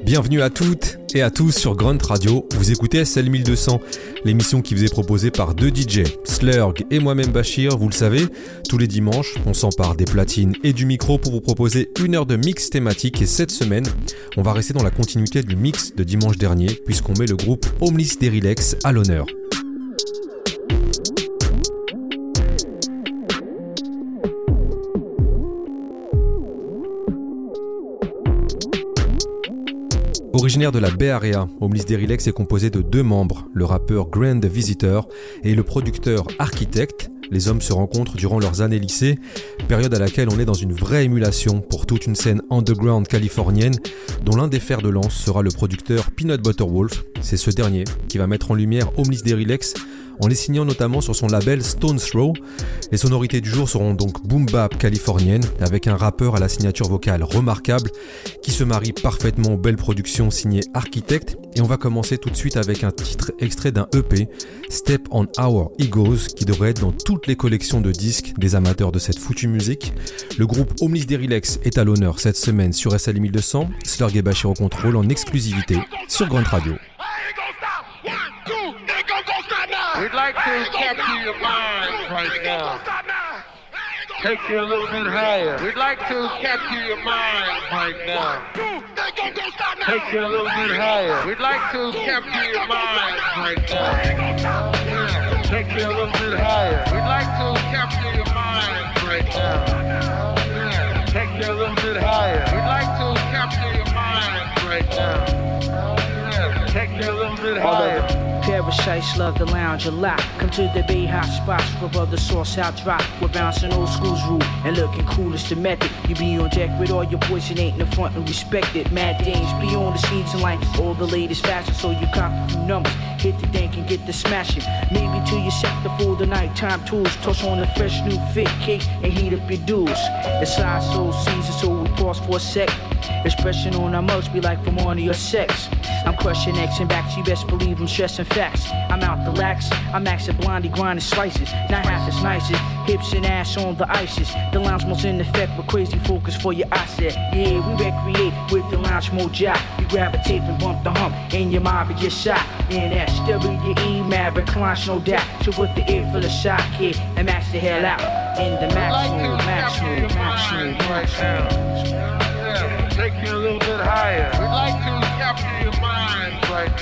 Bienvenue à toutes et à tous sur Grunt Radio. Vous écoutez SL 1200, l'émission qui vous est proposée par deux DJ, Slurg et moi-même Bachir. Vous le savez, tous les dimanches, on s'empare des platines et du micro pour vous proposer une heure de mix thématique. Et cette semaine, on va rester dans la continuité du mix de dimanche dernier, puisqu'on met le groupe Homeless Derrilex à l'honneur. Originaire de la Bay Area, Homeless Derrilex est composé de deux membres, le rappeur Grand Visitor et le producteur Architect. Les hommes se rencontrent durant leurs années lycée, période à laquelle on est dans une vraie émulation pour toute une scène underground californienne, dont l'un des fers de lance sera le producteur Peanut Butter Wolf. C'est ce dernier qui va mettre en lumière Homeless Derrilex en les signant notamment sur son label Stones Throw. Les sonorités du jour seront donc boom bap californienne, avec un rappeur à la signature vocale remarquable qui se marie parfaitement aux belles productions signées Architect. Et on va commencer tout de suite avec un titre extrait d'un EP, Step on Our Egos, qui devrait être dans toutes les collections de disques des amateurs de cette foutue musique. Le groupe Homeless Derrilex est à l'honneur cette semaine sur SL 1200, Slurg et Bachir au contrôle en exclusivité sur Grunt Radio. We'd like to capture your mind right now. Take you a little bit higher. We'd like to capture your mind right now. Take you a little bit higher. We'd like to capture your mind right now. Take you a little bit higher. We'd like to capture your mind right now. Take you a little bit higher. We'd like to capture your mind right now. Take you a little bit higher. Parasites love the lounge a lot. Come to the Bay hot spots where brother sauce out drop. We're bouncing old school's rule and looking cool as the method. You be on deck with all your boys and ain't in the front and respect it. Mad Dames be on the scenes and like all the latest fashion. So you cop a few numbers, hit the dank and get the smashing. Maybe till you set the full the nighttime tools. Toss on a fresh new fit cake and heat up your dues. It's our soul season so we pause for a sec. Expression on our mugs be like from one of your sex. I'm crushing X and backs, you best believe I'm stressing facts. I'm out the lax, I'm maxing blondie grinding slices. Not half as nice as hips and ass on the ices. The lounge mode's in effect with crazy focus for your eyesight. Yeah, we recreate with the lounge mode jack. You grab a tape and bump the hump, and your mob will get shot. In SWE, Maverick, launch no doubt. So with the ear full of shot kid and max the hell out. In the max mode, max mode, max mode, max mode. Take you a little bit higher. We'd like to capture your mind right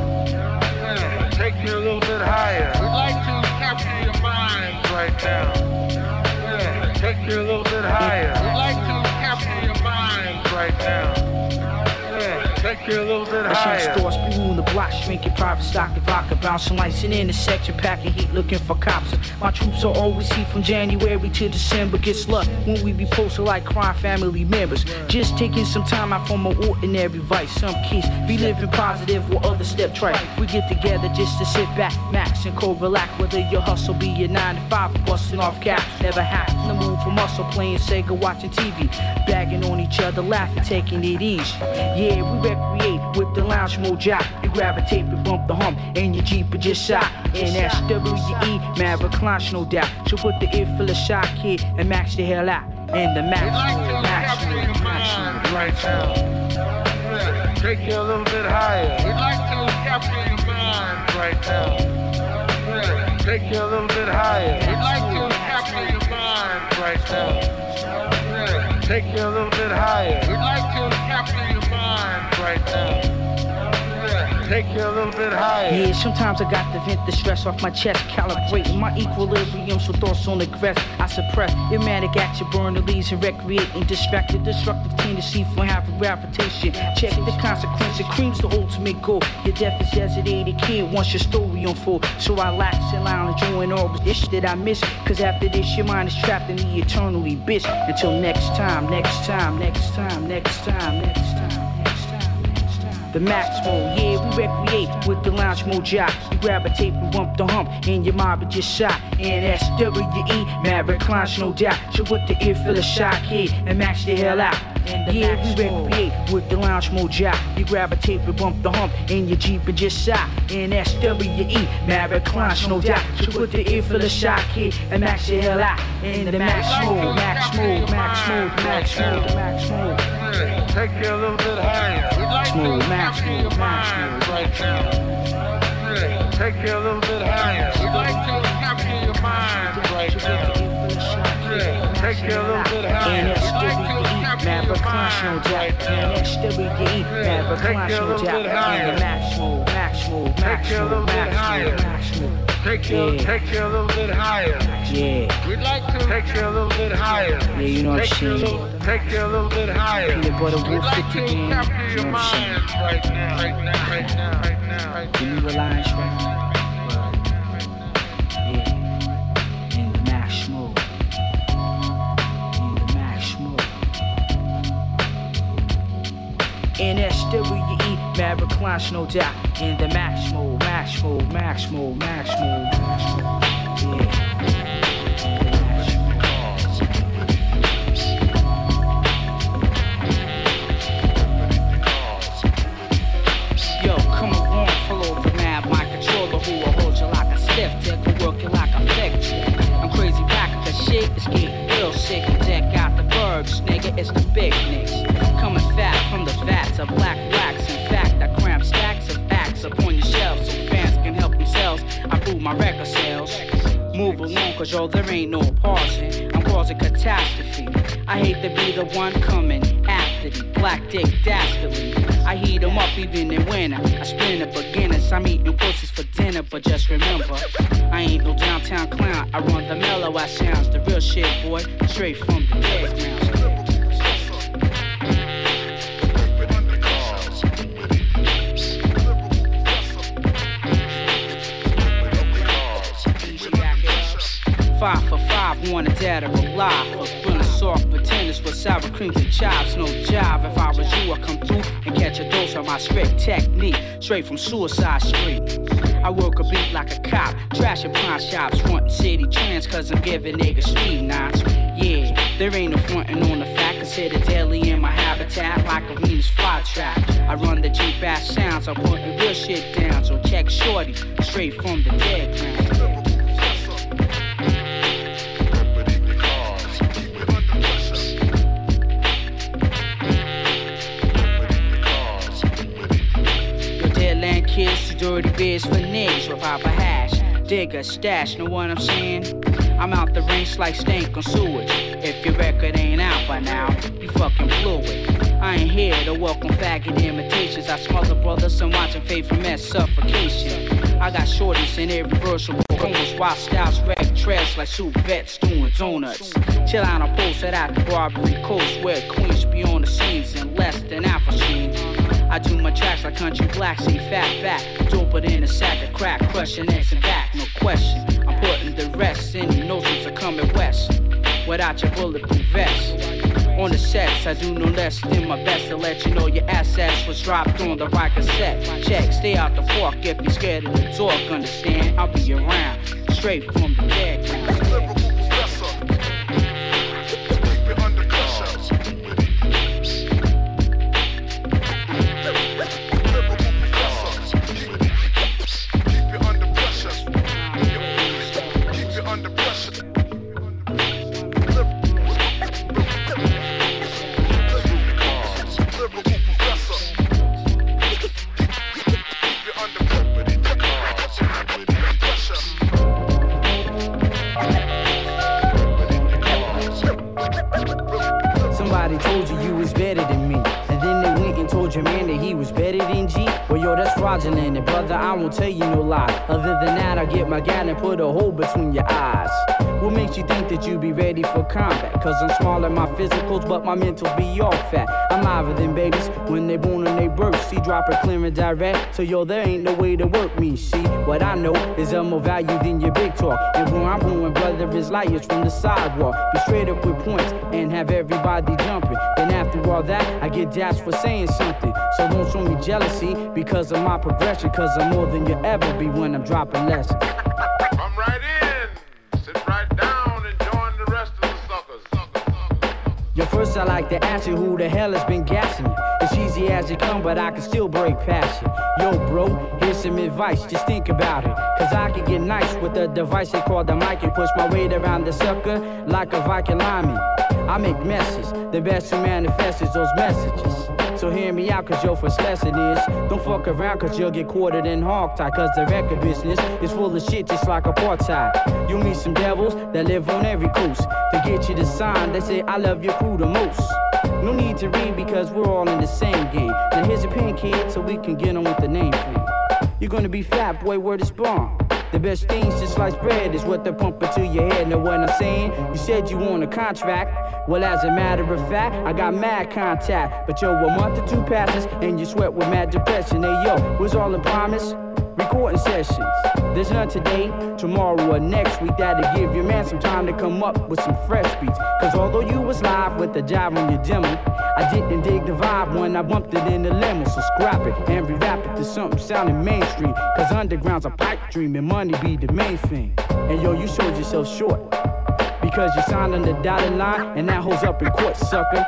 now. Take you a little bit higher. We'd like to capture your mind right now. Take you a little bit higher. We'd like to capture your mind right now. Take you a little bit higher. Stores be on the block, shrinking private stock and vodka, bouncing lights in the section, packing heat, looking for cops. My troops are always heat from January to December. Gets luck when we be posted like crime family members. Just taking some time out from an ordinary vice. Some kids be living positive while others step trite. We get together just to sit back, max and co-relax. Whether your hustle be your 9 to 5 or busting off caps. Never happen to move from muscle, playing Sega, watching TV, bagging on each other, laughing, taking it easy. Yeah, we recreate with the lounge mode jack. You grab a tape and bump the hump, and your Jeep will just shot. In SWE, Maverick launch no doubt. So put the ear full of shot kid and max the hell out. In the max mode, max mode, max mode, right now. Take you a little bit higher. We'd like to capture your mind right now. Take you a little bit higher. We'd like to capture your mind right now. Take you a little bit higher. We'd like to capture your mind right now. Take you a little bit higher. Yeah, sometimes I got to vent the stress off my chest, calibrating my equilibrium so thoughts on the crest. I suppress erratic action, burn the leaves and recreating distracted, destructive tendency for having gravitation. Check the consequence, it creams the ultimate goal. Your death is designated kid once your story unfold. So I lax and lounge enjoying all the shit that I miss. Cause after this your mind is trapped in the eternally bitch. Until next time, next time, next time, next time, next time. The max mode, yeah, we recreate with the lounge mode jack. You grab a tape and bump the hump, and your mob just shot. In SWE, Maverick launch no doubt. So with the ear full of shot kid and max the hell out. Yeah, we recreate with the lounge mode jack. You grab a tape and bump the hump in your Jeep and just sigh. NSWE, Maverick Crunch, no doubt. So put the ear for the shock kid and max your hell out. In the max mode, max mode, max mode, max mode, max mode. Take you a little bit higher. Max mode, max mode, max mode. Right now. Take you a little bit higher. We'd like to capture your mind right now. Take you a little bit higher. NSWE, Maverick Crunch, no doubt. NSWE, Maverick Crunch, no doubt. In the max mode, max mode, max mode, max mode, max mode. Take you a little bit higher. Yeah. We'd like to take you a little bit higher. Yeah, you know what I'm saying. Take you a little bit higher. Peanut butter We'd wolf like 50 to game. capture your You know what I'm saying. mind right now. Right now. Right now. Right now. Right Give me now. Reliance right now. Yeah. In the max mode. In the max mode. NSWE, Maverick Crunch, no doubt. In the max mode, max mode, max mode, max mode, max mode. Yeah. Yo, come along, follow the map, my controller who will hold you like a stiff dick, will work you like a thick chick. I'm crazy back at the shit, it's getting real sick. Deck out the verbs, nigga, it's the big nicks. Coming fat from the vats of black wax. In fact, I cramp stacks of acts upon your shelves so fans can help themselves. I prove my record sales. Move along, cause yo, there ain't no pausing. I'm causing catastrophe. I hate to be the one coming after the black dick dastardly. I heat 'em up even in winter. I spin the beginners. I'm eating pussies for dinner, but just remember, I ain't no downtown clown. I run the mellow ass sounds, the real shit, boy, straight from the dead ground. Five for five, wanted dead or alive. For grilling soft pretenders with sour creams and chives. No jive, if I was you, I'd come through and catch a dose of my strict technique. Straight from Suicide Street. I work a beat like a cop, trashing pawn shops, frontin' city trends, cause I'm giving niggas street knots. Yeah, there ain't no frontin' on the fact, consider daily in my habitat like a Venus flytrap. I run the Jeep ass sounds, I'm putting real shit down, so check shorty, straight from the dead ground. Kids to dirty beers for niggas with Papa Hash. Digger, stash, know what I'm saying? I'm out the range like stank on sewage. If your record ain't out by now, you fucking blew it. I ain't here to welcome faggot imitations. I smother brothers and watching Faith from that suffocation. I got shorties in every verse of almost wild styles, wreck trash like soup vets doing donuts. Chill out on post at the Barbary Coast where queens be on the scenes in less than half a scene. I do my tracks like country black, see fat back. Dope it in a sack of crack, crushing X and back, no question. I'm putting the rest in your notions are coming west. Without your bulletproof vest. On the sets, I do no less than my best to let you know your assets was dropped on the right cassette. Check, stay out the fork if you're scared of the talk, understand? I'll be around, straight from the dead ground. And brother, I won't tell you no lie. Other than that, I get my gat and put a hole between your eyes. What makes you think that you be ready for combat? Cause I'm small in my physicals, but my mentals be all fat. I'm liver than babies when they born and they birth. See, drop it clear and direct. So yo, there ain't no way to work me. See, what I know is of more value than your big talk. And where I'm going, brother, is light years from the sidewalk. Be straight up with points and have everybody jumping. Then after all that, I get dashed for saying something. So don't show me jealousy because of my progression. Cause I'm more than you'll ever be when I'm dropping lessons. Come right in, sit right down and join the rest of the suckers. Yo, first Plus, I like to ask you who the hell has been gassing you. It's easy as it come, but I can still break past you. Yo, bro, here's some advice, just think about it. Cause I can get nice with the device they call the mic and push my weight around the sucker like a Viking lineman. I make messes, the best who manifests is those messages. So hear me out, cause your first lesson is don't fuck around, cause you'll get quartered in hog tie. Cause the record business is full of shit just like apartheid. You'll meet some devils that live on every coast. To get you to sign, they say I love your crew the most. No need to read because we're all in the same game. Now here's a pen, kid, so we can get on with the name thing. You're gonna be fat, boy, word is born. The best things to slice bread is what they're pumping to your head. Know what I'm saying? You said you want a contract. Well, as a matter of fact, I got mad contact. But yo, a month or two passes and you sweat with mad depression. Hey yo, was all in promise? Recording sessions. There's none today, tomorrow or next week. That'll give your man some time to come up with some fresh beats. Cause although you was live with the jive on your demo, I didn't dig the vibe when I bumped it in the limo. So scrap it and re-rap it to something sounding mainstream. Cause underground's a pipe dream and money be the main thing. And yo, you sold yourself short because you signed on the dotted line and that holds up in court, sucker.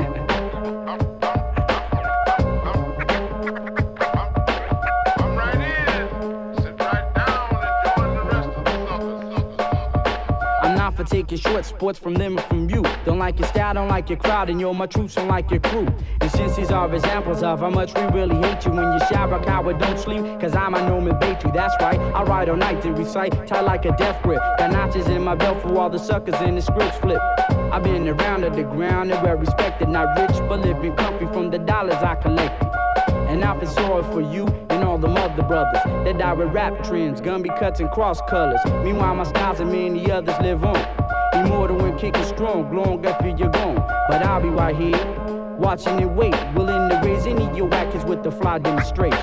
For taking short sports from them and from you. Don't like your style, don't like your crowd, and you're my troops, don't like your crew. And since these are examples of how much we really hate you when you shower, coward, don't sleep, cause I'm a Norman Batey, that's right. I ride all night to recite, tight like a death grip. Got notches in my belt for all the suckers in the scripts flip. I've been around at the ground and well respected, not rich, but living comfy from the dollars I collected. And I feel sorry for you and all the mother brothers that die with rap trends, Gumby cuts and cross colors. Meanwhile, my styles and many others live on. Immortal and kicking strong, long after you're gone. But I'll be right here, watching and wait, willing to raise any of your whackers with the fly demonstration.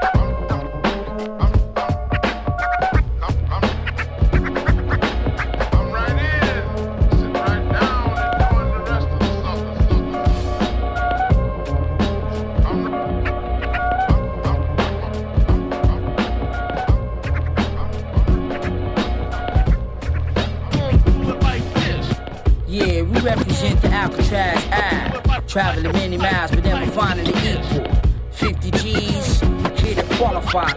Represent the Alcatraz Ave, traveling many miles but never finding the equal. 50 G's, here to qualify.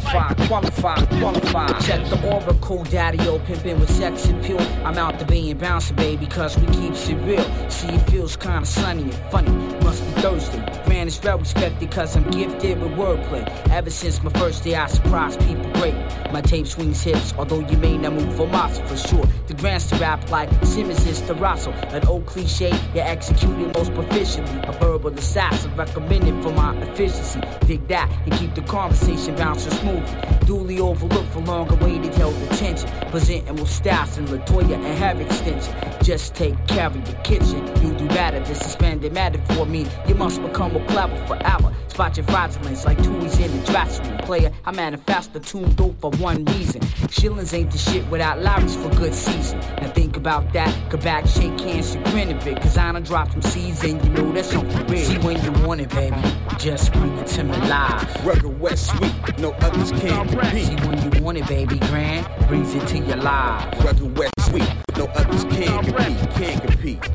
Check the oracle, daddy-o, pimpin' with sex appeal. I'm out the being bouncing, baby, cause we keeps it real. See, it feels kinda sunny and funny, must be Thursday. Man is well respected cause I'm gifted with wordplay. Ever since my first day I surprise people great. My tape swings hips, although you may not move for muscle for sure. The grants to rap like Simmons is to Russell. An old cliche, you executed most proficiently. A verbal assassin recommended for my efficiency. Dig that and keep the conversation bouncing smoothly. Duly overlooked for long awaited held attention. Presenting with styles in Latoya and hair extension. Just take care of your kitchen. You do better than suspended matter for me. You must become more clever forever. Spot your fraudulence like Tui's in the dressing room. Player, I manifest the tune dope for one reason. Shillings ain't the shit without Larry's for good season. Now think about that. Go back, shake hands, and grin a bit. Cause I done dropped some seeds and you know that's something real. See when you want it, baby. Just bring it to me live. Rugged West Sweet, no others can compete. See when you want it, baby. Grand, brings it to your live. Rugged West Sweet, no others can compete. Can't compete.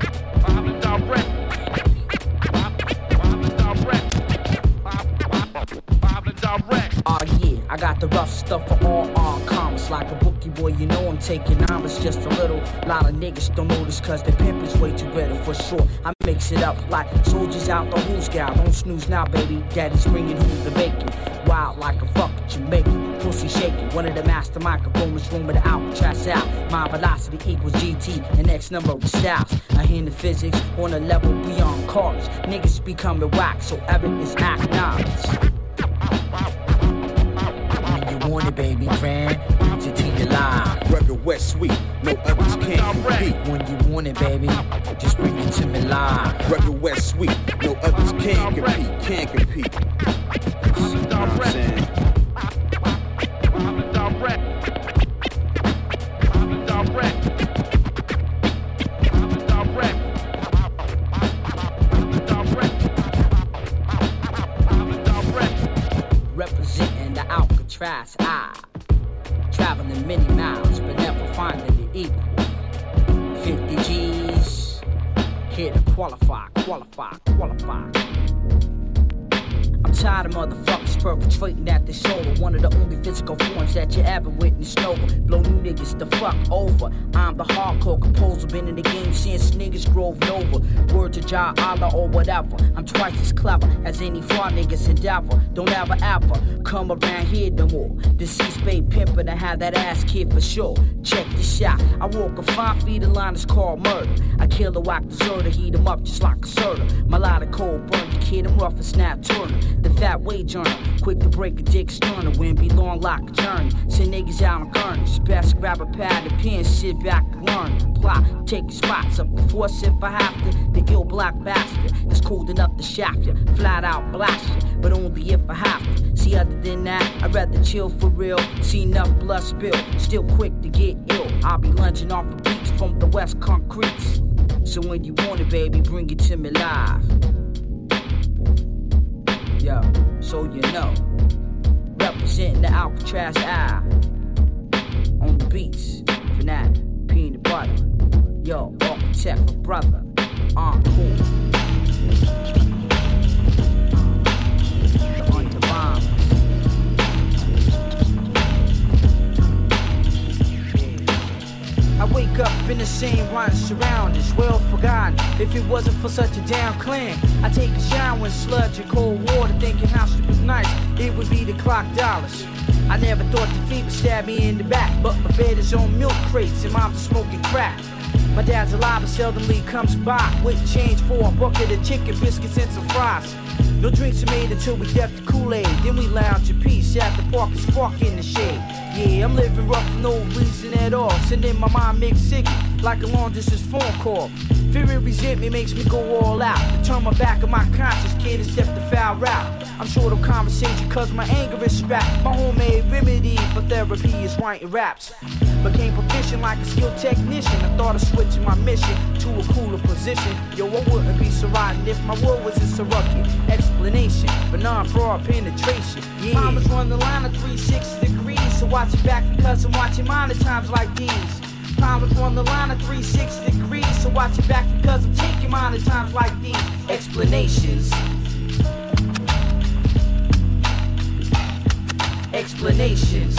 Oh yeah, I got the rough stuff for all commas. Like a bookie boy, you know I'm taking numbers just a little. Lot of niggas don't notice cause their pimp is way too better for sure. I mix it up like soldiers out the who's gal. Don't snooze now, baby. Daddy's bringing home the bacon. Wild like a fucking Jamaican. Pussy shaking. One of the master microphones room with the Alcatraz out. My velocity equals GT and X number of styles. I hear the physics on a level beyond college. Niggas becoming whack, so evidence acknowledged. Want it, baby, grand, brings it to your live. Rugged West Sweet, no others can compete. When you want it, baby, just bring it to me live. Rugged West Sweet, no others can compete. Can't compete. You know what I'm saying? Representing the Alcatraz Eye. Traveling many miles, but never finding the equal. 50 G's, Here to qualify. I'm tired of motherfuckers perpetrating at this shoulder. One of the only physical forms that you ever witnessed over. Blow you niggas the fuck over. I'm the hardcore composer, been in the game since niggas drove over. Word to Jah Allah or whatever. I'm twice as clever as any fraud niggas endeavor. Don't ever come around here no more. Deceased babe pimpin' I had that ass kid for sure. Check the shot. I walk a 5 feet in line, it's called murder. I kill a whack deserter, heat him up just like a soda. My lot of cold burn the kid, I'm rough as Snap Turner. The fat wage earner, quick to break a dick sterner. Wind be long like a journey. Send niggas out on gurneys. Best grab a pad and pen, sit back and learn. Plot, take your spots up the force if I have to. The ill black bastard that's cold enough to shaft you. Flat out blast you, but only if I have to. See, other than that, I'd rather chill for real. See enough blood spill, still quick to get ill. I'll be lunging off the beach from the west concretes. So when you want it, baby, bring it to me live. Yo, so you know, representing the Alcatraz Eye. On the beats, Fanatic, Peanut Butter. Yo, architect, brother, cool. The Underbombers. I wake up in the same rotten surroundings, well forgotten. If it wasn't for such a damn clan, I take a shower in sludge and cold water, thinking how stupid nice it would be to clock dollars. I never thought defeat would stab me in the back, but my bed is on milk crates and mom's smoking crack. My dad's alive but seldomly comes by with change for a bucket of chicken biscuits and some fries. No drinks are made until we deaf the Kool-Aid. Then we lounge in peace at the park and spark in the shade. Yeah, I'm living rough for no reason at all. Sending my mind mixed signal like a long distance phone call. Fear and resentment makes me go all out. To turn my back on my conscience, kid, and step the foul route. I'm short of conversation cause my anger is strapped. My homemade remedy for therapy is writing raps. Became proficient like a skilled technician. I thought of switching my mission to a cooler position. Yo, I wouldn't be so rotten if my world was a surrogate. Explanation for non-fraud penetration. Yeah. Mama's run the line of 360 degrees, so watch it back because I'm watching mine at times like these. Mama's run the line of 360 degrees, so watch it back because I'm taking mine at times like these. Explanations. Explanations.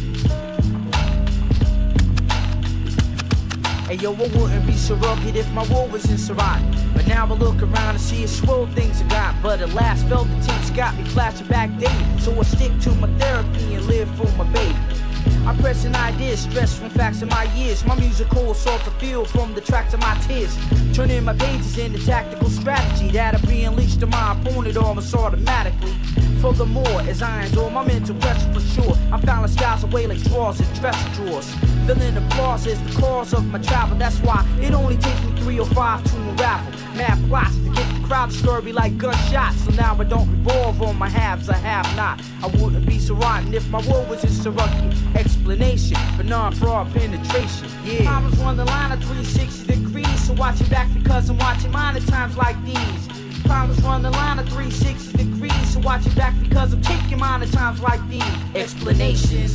Hey yo, I wouldn't be so rugged if my war was in Surat. But now I look around and see a swirl things I got. But at last felt the tips got me flashing back daily. So I stick to my therapy and live for my baby. I'm pressing ideas, stress from facts of my years. My musical assault to feel from the tracks of my tears. Turning my pages into tactical strategy that'll be unleashed on my opponent almost automatically. Furthermore, as irons on my mental pressure for sure, I'm fouling styles away like drawers and dresser drawers. Feeling applause is the cause of my travel. That's why it only takes me 3 or 5 to unravel. Mad plots to get the crowd scurvy like gunshots. So now I don't revolve on my haves, I have not. I wouldn't be so rotten if my world was in Saruki. Explanation for non-fraud penetration. Yeah, I was on the line of 360 degrees, so watch it back because I'm watching mine at times like these. Problems run the line of 360 degrees, so watch it back because I'm taking mine at times like these. Explanations.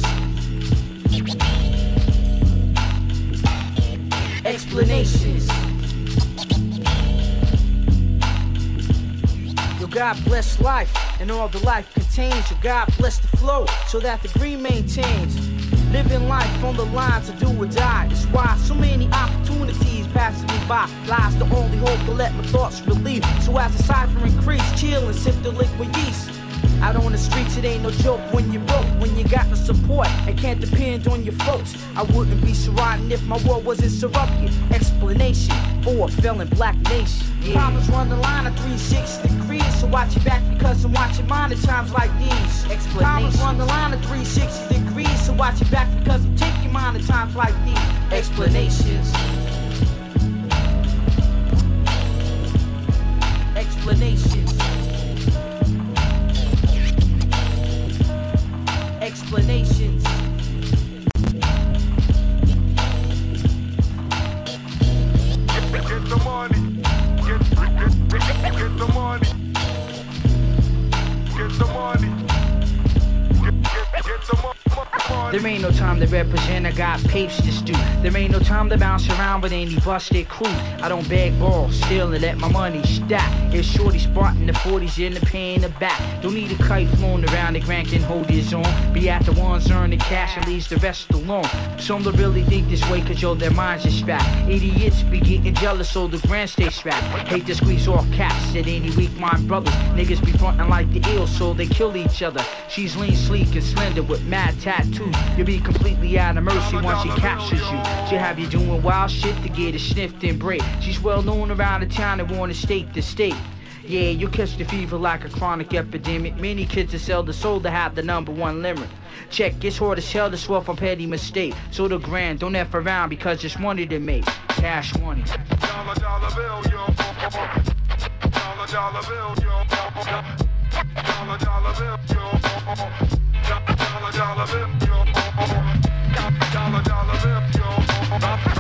Explanations. Yo, God bless life and all the life contains. Yo, God bless the flow so that the green maintains. Living life on the lines of do or die. That's why so many opportunities passing me by. Lies the only hope to let my thoughts relieve. So as the cipher increase, chill and sip the liquid yeast. Out on the streets, it ain't no joke when you're broke, when you got no support and can't depend on your folks. I wouldn't be so rotten if my world wasn't surrogate. Explanation for a failing black nation. Yeah. Problems run the line of 360 degrees, so watch your back because I'm watching mine at times like these. Explanation. Problems run the line of 360 degrees, so watch your back because I'm taking mine at times like these. Explanations. Explanations. Explanations. Get the money. Get the money. Get the money. Get the money. There ain't no time to represent, I got papes to do. There ain't no time to bounce around with any busted crews. I don't beg balls, steal and let my money stack. It's shorty spotting the 40s in the pay in the back. Don't need a kite flown around, the grand can hold his own. Be at the ones earning cash and leaves the rest alone. Some don't really think this way cause yo, their minds are strapped. Idiots be getting jealous so the grand stay strapped. Hate to squeeze off caps at any weak mind brothers. Niggas be frontin' like the ill so they kill each other. She's lean, sleek and slender with mad tattoos. You'll be completely out of mercy once she captures you. She'll have you doing wild shit to get it sniffed and break. She's well known around the town and worn state to state. Yeah, you'll catch the fever like a chronic epidemic. Many kids that sell the soul to have the #1 limerick. Check, it's hard as hell to swear from petty mistake. So the grand, don't F around because it's money to make. Cash money. Dollar, dollar bill, yo. Dollar, dollar bill, yo. Dollar, dollar bill, yo. Dollar, dollar bill, yo. Dollar, dollar bill, yo.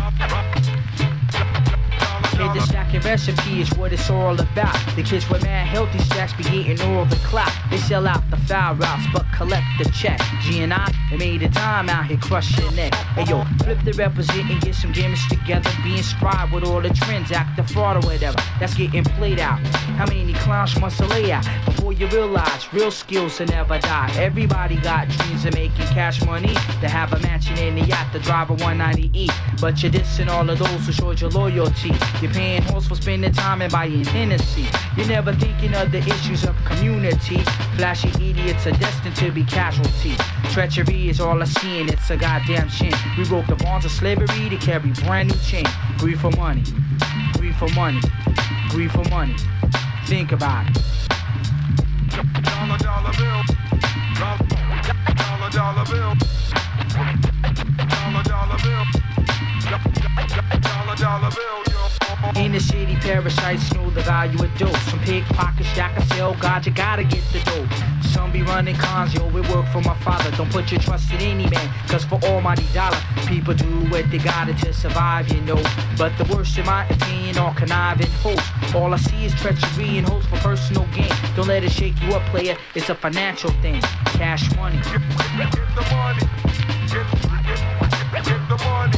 The stacking recipe is what it's all about. The kids with mad healthy stacks be getting all the clout. They sell out the foul routes but collect the check. G&I, they made a time out here crushing it. Hey yo, flip the represent and get some gimmicks together. Be inspired with all the trends, act the fraud or whatever. That's getting played out. How many clowns must I lay out before you realize real skills will never die? Everybody got dreams of making cash money. To have a mansion in the yacht, to drive a 190E. But you're dissing all of those who showed your loyalty. You're paying horse for spending time and buying Hennessy. You're never thinking of the issues of community. Flashy idiots are destined to be casualties. Treachery is all I see and it's a goddamn shame. We broke the bonds of slavery to carry brand new chain. Greed for money, greed for money, greed for money. Think about it. Dollar, dollar bill. Dollar, dollar bill. Dollar, dollar bill. Dollar, dollar bill, yo. In the city, parasites know the value of dope. Some pickpockets that can sell, God, you gotta get the dope. Some be running cons, yo, it work for my father. Don't put your trust in any man, cause for almighty dollar, people do what they gotta to survive, you know. But the worst in my opinion are conniving hosts. All I see is treachery and hopes for personal gain. Don't let it shake you up, player, it's a financial thing. Cash money. Get the money. Get the money. Get the money.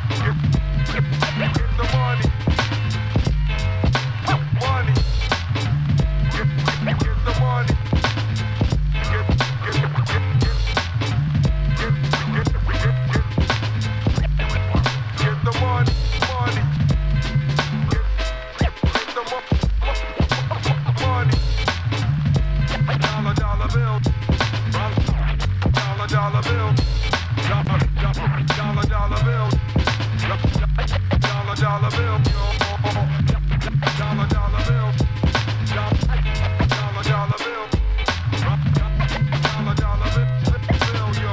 Money. Get the money. Get the money. Money. Get the money. Dollar, dollar bill. Dollar, dollar bill. Dollar, dollar bill. Dollar, dollar bill. Dollar, dollar bill. Dollar, dollar bill. Dollar, dollar bill, yo.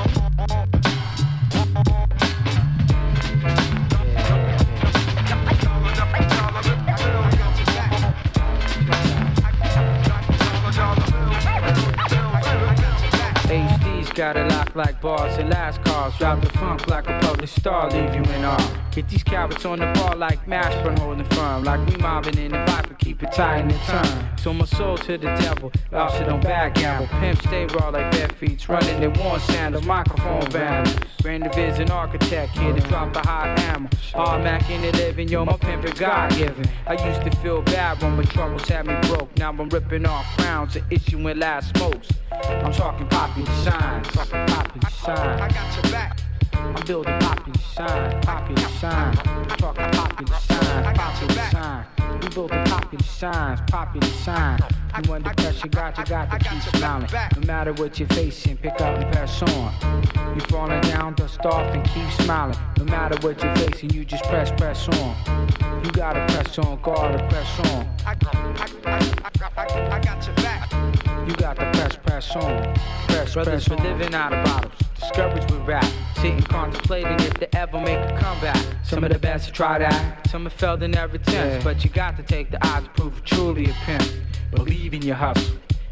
HD's got it locked like bars and last calls. Drop the funk like a public star, leave you in awe. Get these carrots on the bar like Mashburn holding firm. Like we mobbing in the viper, keep it tight in the turn. So my soul to the devil, lost it on backgammon. Pimp stay raw like bare feet, running in worn sandals, microphone band. Brandon Viz an architect, here to drop a hot hammer. Hard Mac in the living, yo, my pimp is God-given. I used to feel bad when my troubles had me broke. Now I'm ripping off crowns and issuing last smokes. I'm talking popular signs, popular signs. I got your back. I'm building popular sign, popular sign. Talking popular sign, popular sign. We building popular signs, popular sign. You under pressure, got to keep smiling. No matter what you're facing, pick up and press on. You falling down, dust off and keep smiling. No matter what you're facing, you just press on. You gotta press on, gotta press on. I got your back. You got to press on. Brothers for living out of bottles. Discouraged with rap. Sitting contemplating if they ever make a comeback. Some of the best have tried that. Some have failed in their attempts. But you got to take the odds to prove you're truly a pimp. Believe in your hustle.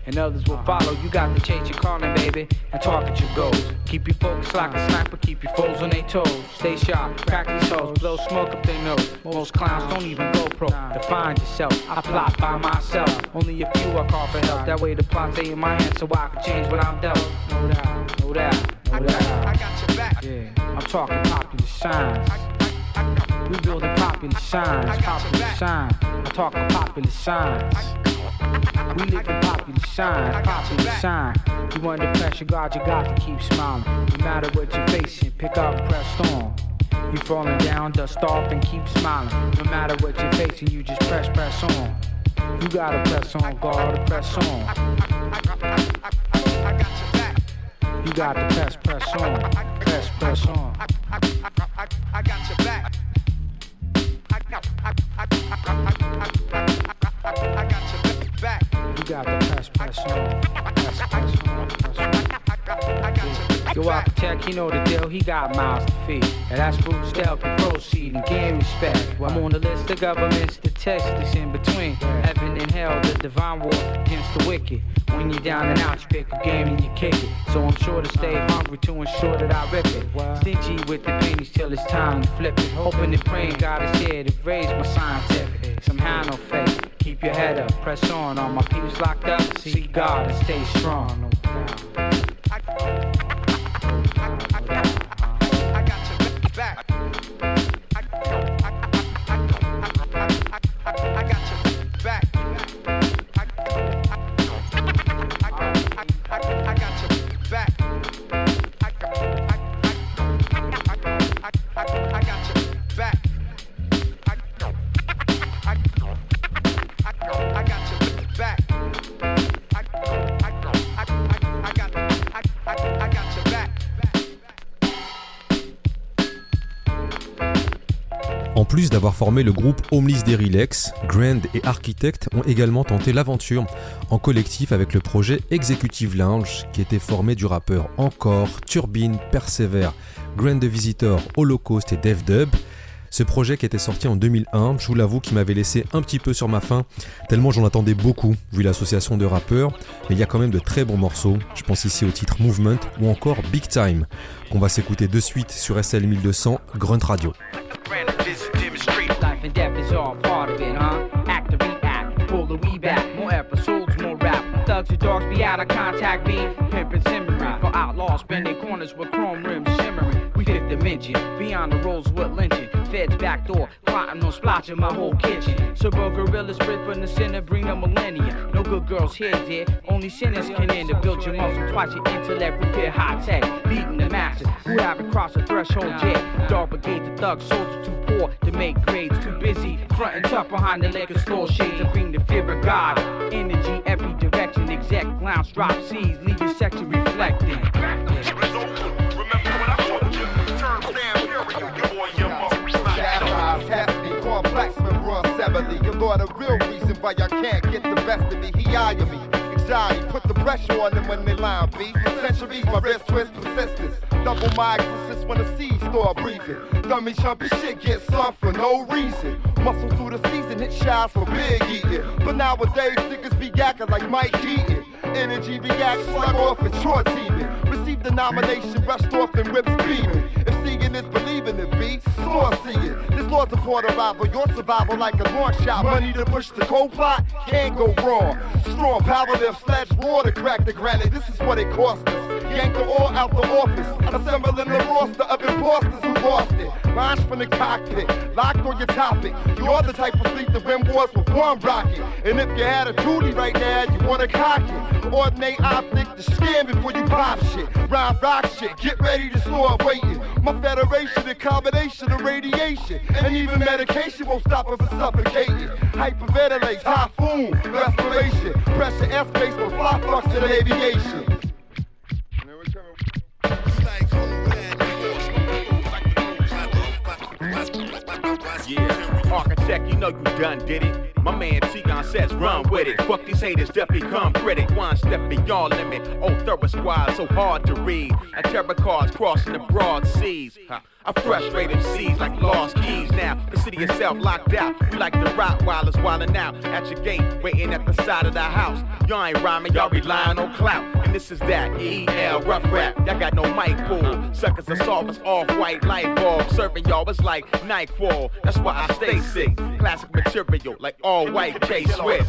and others will follow. You got to chase your calling, baby, and target your goals. Keep your focus like a sniper, keep your foes on their toes. Stay sharp, crack these hoes, blow smoke up their nose. Most clowns don't even go pro. Define yourself, I plot by myself. Only a few I call for help. That way the plot stay in my hands so I can change what I'm dealt. No doubt, no doubt, no doubt. I got your back. Yeah, I'm talking popular signs. We building popular signs, popular signs. I'm talking popular signs. We live in popular sign. You under pressure, God, you got to keep smiling. No matter what you're facing, pick up, press on. You falling down, dust off and keep smiling. No matter what you're facing, you just press on. You gotta press on, God, press on. I got your back. You got to press on, press on. I got your back. I got your back. You got to press on, Yo, architect, he know the deal, he got miles to feed. And that's roots to help you proceed and gain respect. I'm on the list of governments to test this in between. Heaven and hell, the divine war against the wicked. When you're down and out, you pick a game and you kick it. So I'm sure to stay hungry to ensure that I rip it. Stingy with the pennies till it's time to flip it. Hoping and praying God is here to raise my scientific. Somehow no faith, keep your head up, press on. All my peeps locked up, see God and stay strong. No doubt. I got your back. I got your back. En plus d'avoir formé le groupe Homeless Derrilex, Grand et Architect ont également tenté l'aventure en collectif avec le projet Executive Lounge qui était formé du rappeur Encore, Turbine, Persever, Grand the Visitor, Holocaust et Def Dub. Ce projet qui était sorti en 2001, je vous l'avoue, qui m'avait laissé un petit peu sur ma faim, tellement j'en attendais beaucoup, vu l'association de rappeurs, mais il y a quand même de très bons morceaux, je pense ici au titre Movement ou encore Big Time, qu'on va s'écouter de suite sur SL 1200, Grunt Radio. Life and death is all part of it, huh? Act to react, pull the weed back, more episodes, more rap. Thugs and dogs be out of contact, me pimpin' simmering for outlaws, spending corners with chrome rims shimmering. We fifth dimension, beyond the Rosewood lynching. Feds back door, plotting on splotching my whole kitchen. Servo gorillas split from the center, bring the millennia. No good girls here, dear. Only sinners can enter. Build your muscle twice your intellect, repair high tech. Beating the masses who haven't crossed the threshold yet. Dog brigade, the thug soldiers too poor to make grades. Too busy frontin' tough behind the liquor store shades and bring the fear of God. Energy every direction. Exec lounge drop C's, leave your section reflecting. You're the real reason why y'all can't get the best of me. He eye me, anxiety, put the pressure on them when they line beef. For centuries, my wrist twist persistence. Double my existence when the seeds start breathing. Dummy chumpy shit gets soft for no reason. Muscle through the season, hit shots for big eating. But nowadays, niggas be yakking like Mike Keaton. Energy reacts, slug off and short teaming. Receive the nomination, rushed off and whips beaming. If seeing is believing it be, soar seeing. This law's a quarter rival, your survival like a launch shot. Money to push the cold pot, can't go wrong. Strong power lift, slash raw to crack the granite. This is what it cost us. Yank the all out the office. Assembling the roster of imposters who lost it. Launch from the cockpit, locked on your topic. You're the type of fleet that win wars with one rocket. And if you had a duty right now, you wanna cock it. Ordinate optic to scam before you pop shit. Rhyme rock shit, get ready to start waiting. My federation, a combination of radiation. And even medication won't stop it from suffocating. Hyperventilates, typhoon, respiration. Pressure airspace for fly function and aviation. Yeah, architect, you know you done did it. My man T-Gon says run with it. Fuck these haters, definitely come critic. One step beyond limit. Oh, thorough squad, so hard to read. A terror cars crossing the broad seas. I frustrate MCs like lost keys now. The city itself locked out. We like the Rottweilers wildin' out at your gate, waiting at the side of the house. Y'all ain't rhyming, y'all relying on clout. And this is that EL rough rap. Y'all got no mic pool. Suckers are soft as off-white light bulb. Serving y'all it's like nightfall. That's why I stay sick. Classic material like all white K-Swiss.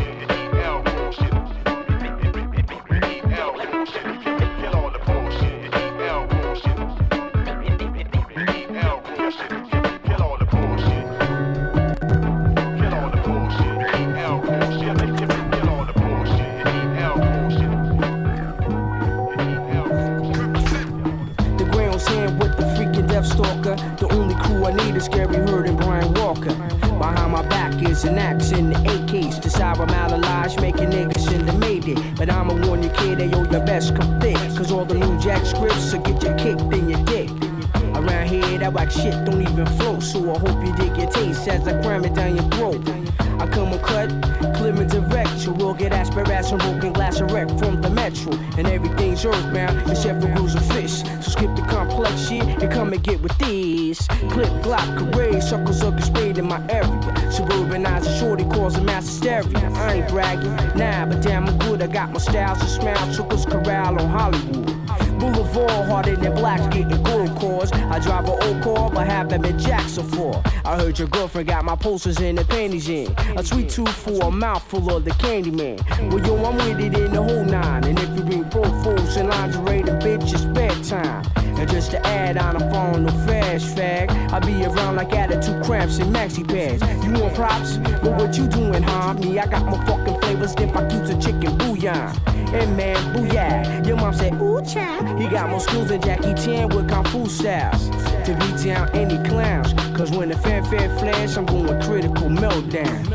Stalker. The only crew I need is Gary Hurd and Brian Walker. Behind my back is an axe in the AKs. Decide I'm out of lies, making niggas in the Mayday. But I'ma warn you, kid, they owe your best come thick. Cause all the new jack scripts will get you kicked in your dick. Around here, that whack shit don't even flow. So I hope you dig your taste as I cram it down your throat. I come uncut, clear and direct. You will get aspirates and broken glass erect from the metro. And everything's earthbound except for rules of fish. So skip the complex shit and come and get with this. Clip, glock, career, suckers are sprayed in my area. Suburbanizer shorty causing mass hysteria. I ain't bragging, nah, but damn I'm good. I got my styles and smiles, Chuckles Corral on Hollywood. Boulevard, harder than blacks getting gold cores. I drive an old car, but have them in Jackson for. I heard your girlfriend got my posters and the panties in. A sweet tooth for a mouthful of the candy man. Well, yo, I'm with it in the whole nine. And if you bring profiles and lingerie, then bitch, it's bedtime. And just to add on, I'm following no fast fag. I be around like attitude cramps and maxi pads. You want props? But what you doing, huh? Me, I got my fucking flavors, then I use a chicken bouillon. And man, booyah. Your mom said, ooh, child. He got more skills than Jackie Chan with Kung Fu styles. To beat down any clowns. Cause when the fanfare flash, I'm going critical meltdown.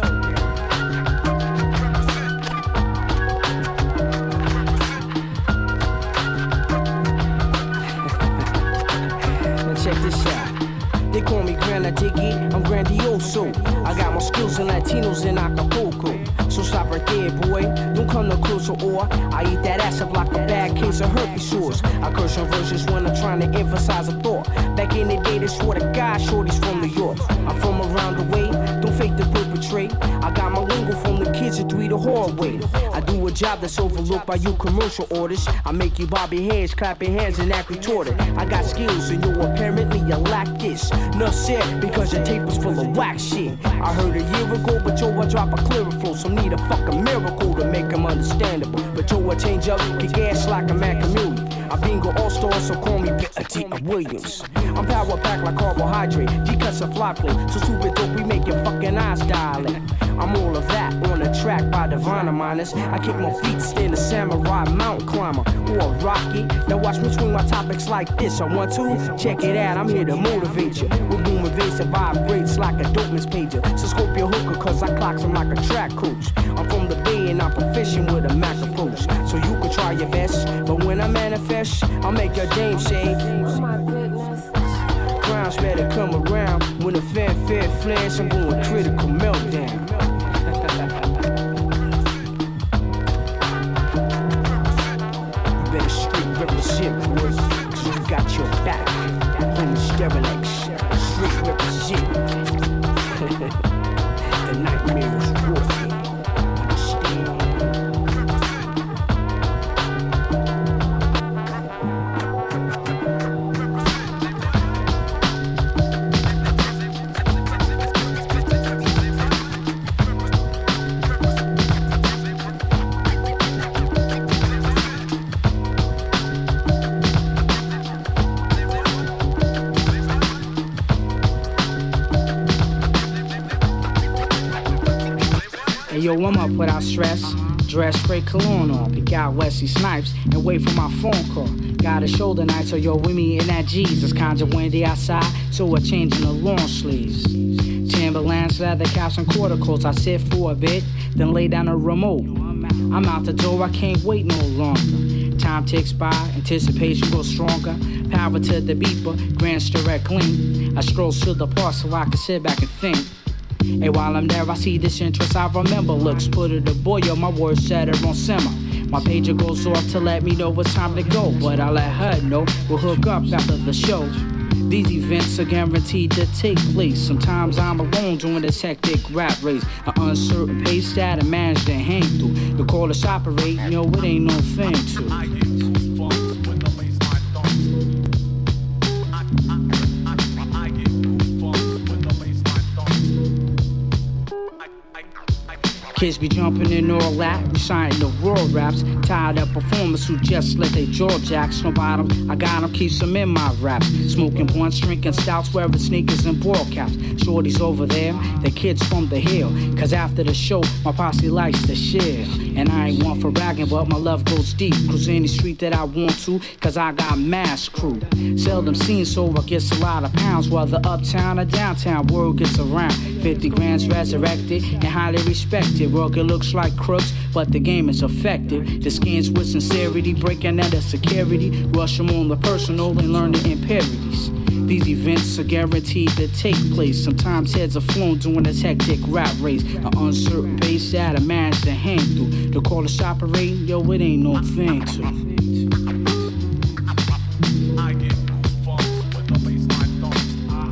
Check this out. They call me Granadigi, I'm grandioso. I got more skills than Latinos in Acapulco. So stop right there, boy. Don't come no closer or I eat that ass up like a bad case of herpes sores. I curse on verses when I'm trying to emphasize a thought. Back in the day, they swore to God, shorties from New York. I'm from around the way, don't fake the perpetrate. I got my lingo from the kids at 3 the hallway. I do a job that's overlooked by you commercial orders. I make you bob your heads, clap your hands, and act retorted. I got skills, and you apparently you lack this. Nuff said because your tape was full of whack shit. I heard a year ago, but yo, I drop a clearer flow. So need a fucking miracle to make them understandable. But yo, I change up, get gas like a man chameleon. I bingo all-star, so call me P.A.T. Williams. I'm power packed like carbohydrate. G-cuts a fly plate, so super dope, we make your fucking eyes dilate. I'm all of that on the track by Divine Minus. I kick my feet, stand a samurai mountain climber or a rocket. Now watch me swing my topics like this. I want to check it out. I'm here to motivate you. With boom invasive vibrates like a dopeman's pager. So scope your hooker, cause I clocks him like a track coach. I'm from the Bay and I'm proficient with a Mac approach. So you can try your best, but when I manifest, I'll make your dame say, oh my goodness. Crowns better come around. When the fanfare flash, I'm going critical meltdown. You better straight represent, boys, cause you got your back. Homie Sterilix, straight represent. The nightmare is warfare. Understand? Yo, I'm up without stress. Dress, spray cologne on. Pick out Wesley Snipes and wait for my phone call. Got a shoulder night, so yo, with me in that Jesus. Kinda windy outside, so we're changing the long sleeves. Timberlands, leather caps, and quarter coats. I sit for a bit, then lay down a remote. I'm out the door, I can't wait no longer. Time ticks by, anticipation grows stronger. Power to the beeper, grand direct clean. I stroll to the park so I can sit back and think. Hey, while I'm there, I see this interest I remember. Looks put it a boil, my words set it on simmer. My pager goes off to let me know it's time to go, but I let her know we'll hook up after the show. These events are guaranteed to take place. Sometimes I'm alone doing this hectic rap race. An uncertain pace that I manage to hang through. The call us operate, yo, it ain't no thing to. I get goosebumps when the baseline thumps. I get goosebumps when the baseline thumps. Kids be jumping in all that, reciting the raw raps. Tired of performers who just let their jaw jacks. No bottom, I got them, keeps them in my raps. Smoking blunts, drinking stouts, wearing sneakers and ball caps. Shorties over there, the kids from the hill. Cause after the show, my posse likes to share. And I ain't one for bragging, but my love goes deep. Cruise any street that I want to, cause I got mass crew. Seldom seen, so I guess a lot of pounds. Whether uptown or downtown, word gets around. 50 grand's resurrected and highly respected. Rugged looks like crooks, but the game is effective. The skins with sincerity, breaking out of security. Rush them on the personal and learn the impurities. These events are guaranteed to take place. Sometimes heads are flown during this hectic rap race. An uncertain pace that I manage to hang through. The call us operate, yo, it ain't no thing to. I get goosebumps when the baseline thumps.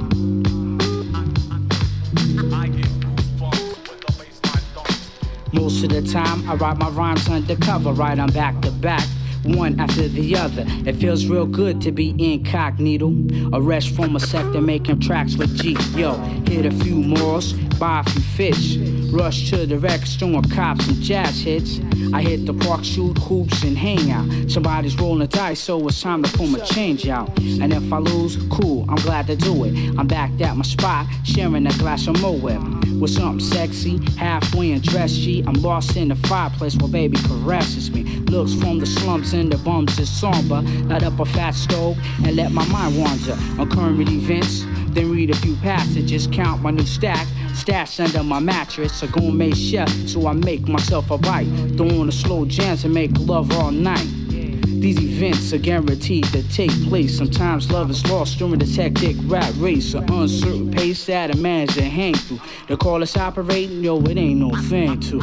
I get goosebumps when the baseline thumps. Most of the time, I write my rhymes undercover, right on back to back. One after the other. It feels real good to be incognito. Arrest from a sector making tracks with G. Yo, hit a few morals, buy a few fish. Rush to the record store and cop some jazz hits. I hit the park, shoot hoops and hang out. Somebody's rolling dice, so it's time to pull my change out. And if I lose, cool, I'm glad to do it. I'm back at my spot, sharing a glass of Moet. With something sexy, halfway in dress sheet. I'm lost in the fireplace while baby caresses me. Looks from the slums and the bums is somber. Light up a fat stove and let my mind wander on current events. Then read a few passages, count my new stack. Stashed under my mattress, a gourmet chef, so I make myself a bite. Throw on a slow jams and make love all night. These events are guaranteed to take place. Sometimes love is lost during this hectic rap race. An uncertain pace that I manage to hang through. They call us operating, yo, it ain't no thing to.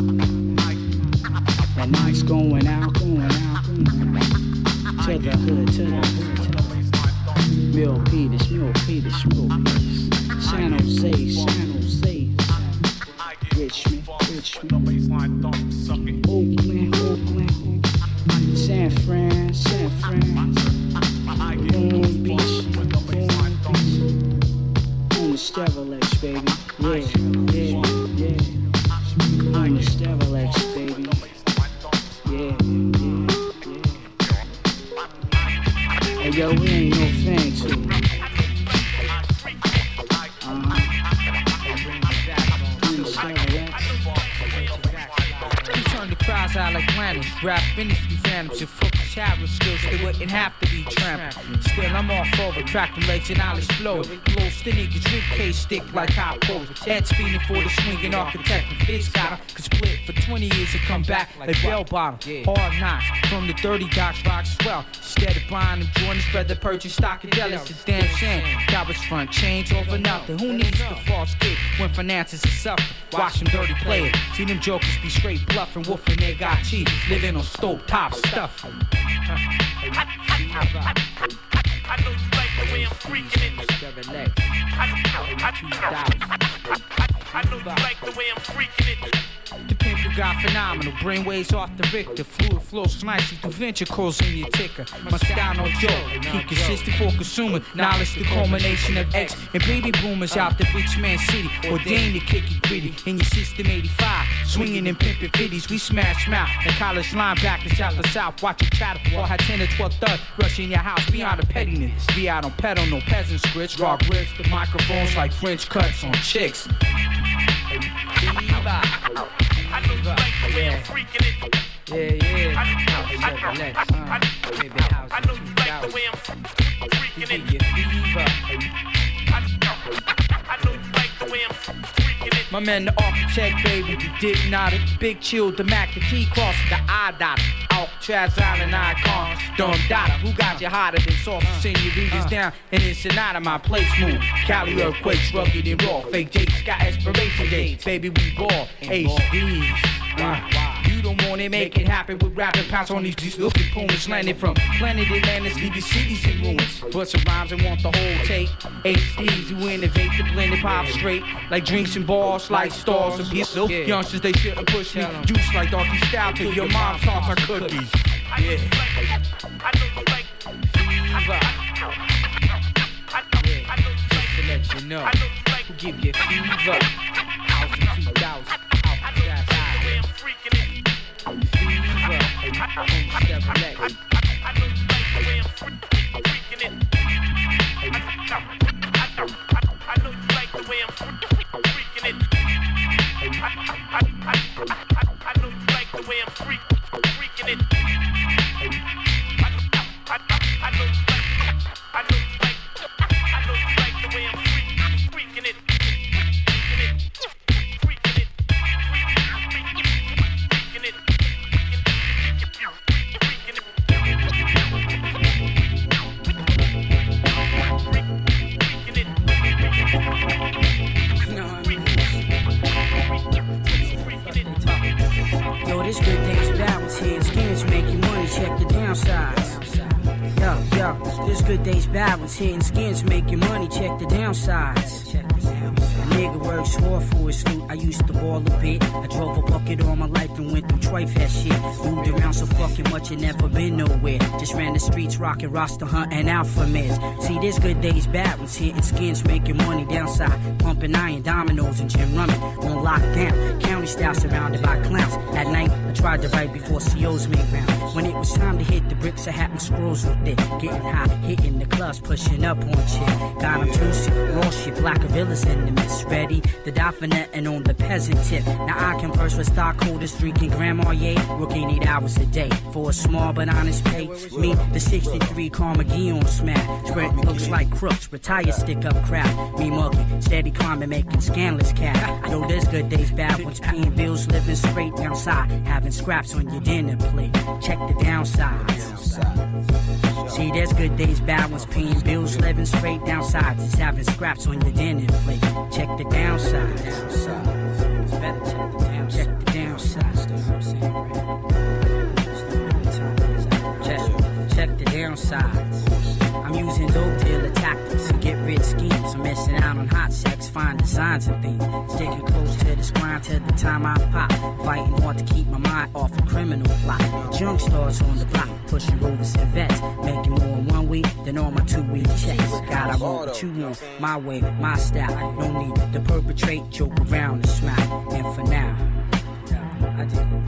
And nights going out, going out, going out. To the hood, to the hood, to the hood. Mill Peters, Mill Peters, Mill Peters. San Jose, San Jose. Richmond, Richmond. Oakland, Oakland. San Fran, San Fran. Long Beach, Long Beach. On the Stevilex, baby. Yeah, yeah, yeah. On the Stevilex, baby. Yeah, yeah, yeah. Hey, yo, we ain't no thing to it. Crowds out like planets, rap industry phantoms. If focus childhood skills, they wouldn't have to be trampled. Still, I'm all over, crack them legs and knowledge flow. Blow still niggas, ribcage stick like hot pole. Head spinning for the swinging architect. And Fitz got him, could split for 20 years and come back like bell bottom. Hard knocks from the dirty docks, rock swell. Instead of buying them Jordans, spread the purchase stockadelics. It's damn shame. Cowards front change over nothing. Who needs the false kid when finances are suffering? Watch them dirty players. See them jokers be straight bluffing, woofing. They got cheese, living on stove top stuff. I know you like the way I'm freaking it. I know you like the way I'm freaking it. The pimp got phenomenal, brainwaves off the Richter. Fluid flows nicely through ventricles in your ticker. My style no joke, keep consistent for consumer. Knowledge the culmination of X and baby boomers out the rich man city. Ordained to kick it gritty in your system 85. Swinging and pimping 50s, we smash mouth. And college linebackers out the south, watch you chatter. Or had 10 or 12 thugs rushing your house beyond the pettiness. Be out on pedal, no peasant scripts. Raw grips, the microphones like French cuts on chicks. I know you like the way I'm freaking it. Yeah. I know you like the way I'm freaking it. I know you like the way I'm freaking it. My man, the architect, baby, the dipnotic, big chill, the Mac, the T-cross, the I-dot, Alcatraz Island icon, Dumb Dada, who got you hotter than soft, senoritas down, and it's not my place move. Cali earthquakes, rugged and raw, fake dates, got expiration dates, baby, we ball, HD. You don't want it, make it happen with rapping. Pounce on these little opponents landing from planet Atlantis, leave your cities in ruins. Put some rhymes and want the whole take. HDs who innovate the blended pop straight. Like drinks and bars, like stars of his. Youngsters, they shouldn't push me. Juice like Darky Style to your mom's tarts are cookies. Yeah. Fever. Just to let you know, who give you fever? 2000. Hitting skins, making money, check the downsides. A nigga works hard for his loot. I used to ball a bit. I drove a bucket all my life and went through Tri-Fest shit. Moved around so fucking much and never been nowhere. Just ran the streets, rocking roster hunt and alpha meds. See, there's good days, bad ones. Hitting skins, making money downside. Pumping iron, dominoes and gin rummin' on lockdown. County style surrounded by clowns. At night, I tried to write before COs made round. When it was time to hit the bricks, I had my scrolls with it. Getting high, hitting the clubs, pushing up on shit. Got them juicy, raw shit, black villas in the mist. Ready to die for nothing on the peasant tip. Now I converse with stockholders, drinking Grand Marnier, working 8 hours a day for a small but honest pay. Me, the 63 Carnegie on smash. Spread looks like crooks, retire, stick up crowd. Me mugging, steady climbing, making scandalous cash. Yo, there's good days, bad ones, paying bills, living straight downside, having scraps on your dinner plate. Check the downsides. See, there's good days, bad ones, paying bills, living straight downsides, just having scraps on your dinner plate. Check the downsides. Check the downsides. Check the downsides. I'm using dope dealer tactics to get rich schemes. I'm missing out on hot sex, fine designs and things. Sticking close to the grind till the time I pop. Fighting hard to keep my mind off a criminal plot. Junk stars on the block, pushing rovers and vets. Making more in 1 week than on my 2-week checks. God, I want what you want, my way, my style. No need to perpetrate, joke around and smile. And for now, I did it.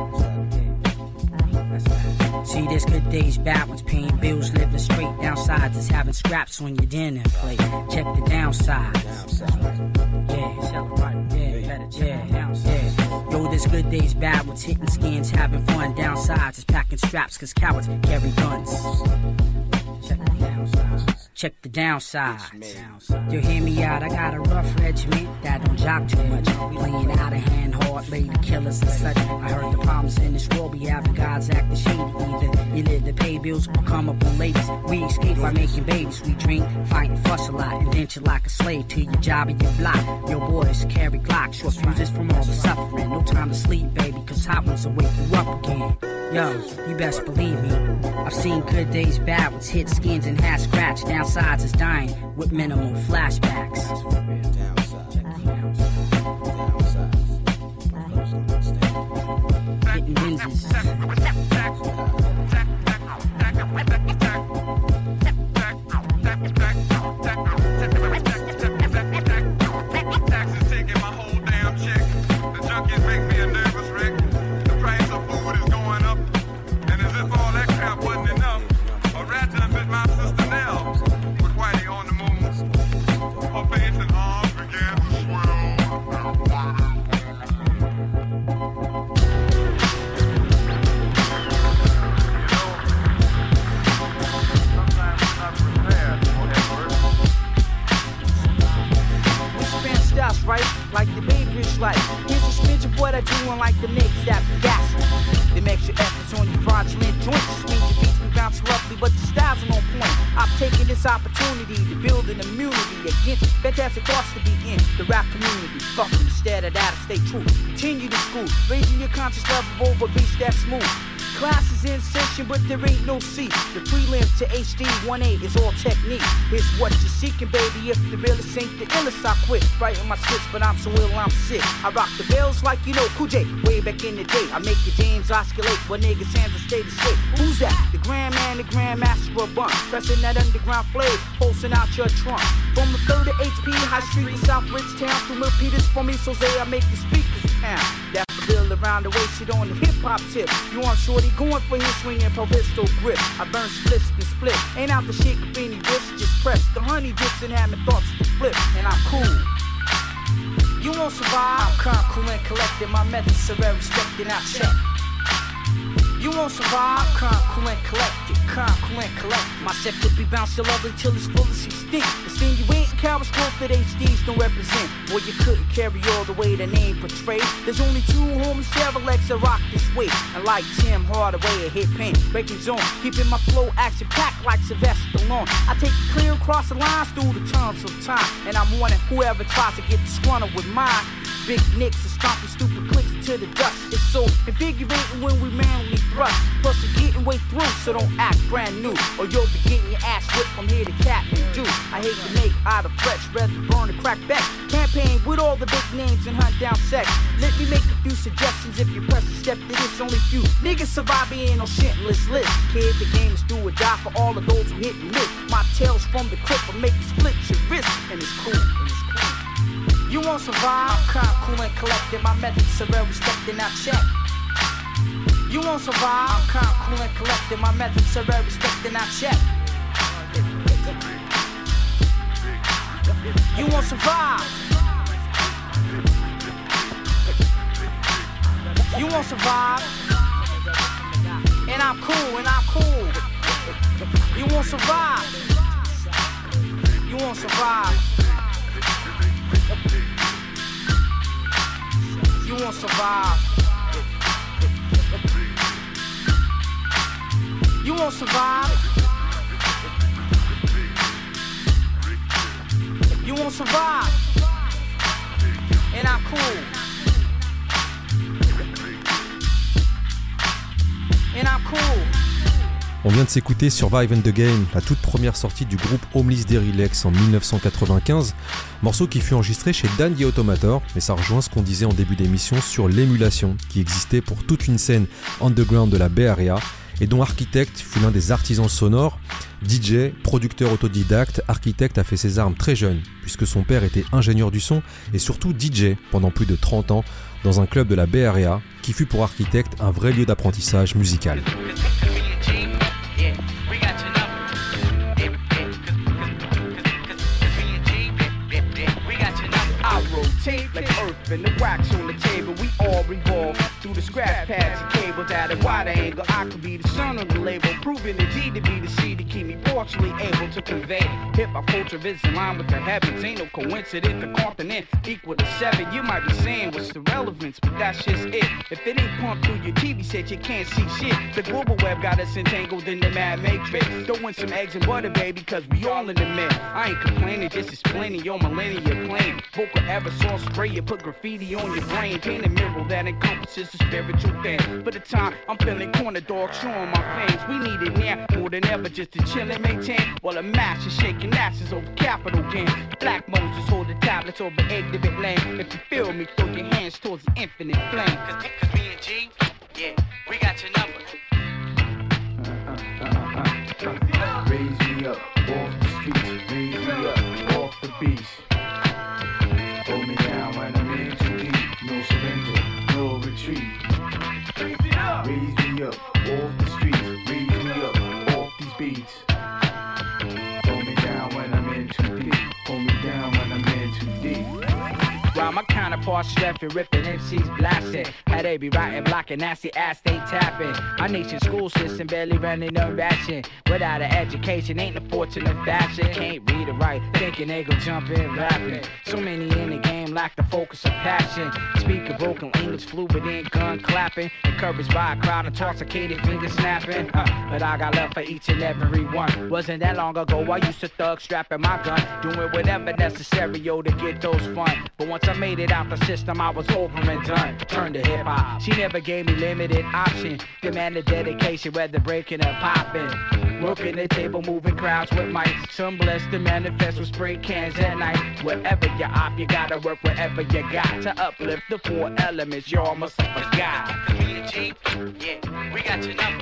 See, there's good days, bad ones, paying bills, living straight downsides, just having scraps on your dinner plate. Check the downsides. Yeah. Yo, there's good days, bad ones, hitting skins, having fun downsides, just packing straps, cause cowards carry guns. Check the downsides. Check the downsides. You hear me out, I got a rough regiment that don't jock too much. Playing out of hand, hard, lady killers and such. I heard the problems in this world, we having God's acting shady. Either you live to pay bills or come up on ladies. We escape by making babies. We drink, fight, and fuss a lot. Indentured like a slave to your job and your block. Your boys carry Glocks, short fuses from all the suffering. No time to sleep, baby, cause hot ones will wake you up again. Yo, you best believe me. I've seen good days, bad ones, hit skins and hat scratch. Downsides is dying with minimal flashbacks. Hitting lenses. My sister Nell with Whitey on the moon. Her face and arms begin this opportunity to build an immunity against fantastic thoughts to be in the rap community. Fuck them, instead of that, stay true. Continue to school, raising your conscious level over beats that smooth. Class is in session, but there ain't no C. The prelim to HD 1A is all technique. Here's what you're seeking, baby. If the realest ain't the illest, I quit writing my scripts, but I'm so ill, I'm sick. I rock the bells like you know Cool J, way back in the day. I make your James oscillate, but niggas' hands will stay the straight. Who's that? The Grand Man, the Grand Master of Bun. Pressing that underground flame, pulsing out your trunk. From the 3rd to HP, High Street to South Ridgetown. Through Milpitas from East Jose, I make the speakers pound. That's the bill around the way, shit on the hip-hop tip. You want shorty going for his swinging pistol grip. I burn splits and split. Ain't out to shake up any wrists, just press the honey dips and have my thoughts to flip. And I'm cool. You won't survive. I'm calm, cool, and collected. My methods are very respected. Now check. You won't survive. I'm calm, cool, and collected. Calm, cool, and collected. My set could be bouncing lovely till it's full of extinct. Insinuating cowards growth that HDs don't represent. Boy, you couldn't carry all the way the name portrayed. There's only 2 homies, Chevrolex that rock this way. And like Tim Hardaway, a hit pain, breaking zone, keeping my flow action packed like Sylvester Stallone. I take it clear across the lines through the tons of time, and I'm warning whoever tries to get disgruntled with mine. Big nicks and stomping stupid clicks to the dust. It's so invigorating when we manly thrust. Plus we're getting way through, so don't act brand new, or you'll be getting your ass whipped from here to Kathmandu. I hate to make out of threats, rather burn and crack back. Campaign with all the big names and hunt down sex. Let me make a few suggestions if you press a step to this. Only few niggas survive being on shitless list. Kid, the game is do or die for all of those who hit and miss. My tails from the clip will make you split your wrist, and it's cool. You won't survive. I'm calm, cool, and collected. My methods are very respected. Now check. You won't survive. I'm calm, cool, and collected. My methods are very respected. Now check. You won't survive. You won't survive. And I'm cool, and I'm cool. You won't survive. You won't survive. You won't survive. You won't survive. You won't survive. And I'm cool. And I'm cool. On vient de s'écouter Survive and the Game, la toute première sortie du groupe Homeless Derrilex en 1995, morceau qui fut enregistré chez Dandy Automator, et ça rejoint ce qu'on disait en début d'émission sur l'émulation qui existait pour toute une scène underground de la Bay Area, et dont Architect fut l'un des artisans sonores. DJ, producteur autodidacte, Architect a fait ses armes très jeune, puisque son père était ingénieur du son et surtout DJ pendant plus de 30 ans dans un club de la Bay Area, qui fut pour Architect un vrai lieu d'apprentissage musical. Like earth and the wax on the table, we all revolve through the scratch pads and cables at a wide angle. I could be the son of the label, proving the G to be the C to keep me partially able to convey. Hip-hop culture is in line with the heavens. Ain't no coincidence, the continent equal to 7. You might be saying what's the relevance, but that's just it. If it ain't pumped through your TV set, you can't see shit. The global web got us entangled in the mad matrix. Throwing some eggs and butter, baby, cause we all in the mix. I ain't complaining, just explaining your millennium plane. Vocal aerosol spray, you put graffiti on your brain. Paint a mural that encompasses the spiritual thing. For the time, I'm feeling corner dog, showing my fangs. We need it now, more than ever, just to chill and maintain. While a mash is shaking asses over capital gain. Black Moses hold the tablets over exhibit lane. If you feel me, throw your hands towards the infinite flame. Cause me and G, yeah, we got your number. Raise me up, off the streets, raise me up, off the beach. Hold me down when I'm in too deep, no surrender, no retreat. Raise me up, off the streets, raise me up, off these beats. Hold me down when I'm in too deep, hold me down when I'm in too deep. While my counterparts streffing, ripping MCs blasting. How they be writing, blocking, nasty ass they tapping. Our nation's school system barely running on ration. Without an education, ain't no fortune of fashion. Can't read or write, thinking they gon' jump in rapping. So many in the game lack the focus of passion. Speak a broken English, fluid in gun clapping. Encouraged by a crowd, intoxicated, fingers snapping. But I got love for each and every one. Wasn't that long ago, I used to thug strapping my gun, doing whatever necessary, yo, to get those fun. But once I made it out the system, I was over and done. Turned to hip hop. She never gave me limited option. Demanded dedication, whether breaking or popping. Working the table, moving crowds with mics. Some blessed to manifest with spray cans at night. Wherever you're op, you gotta work wherever you got to uplift the four elements. You're almost a guy. Me and G, yeah, we got your number.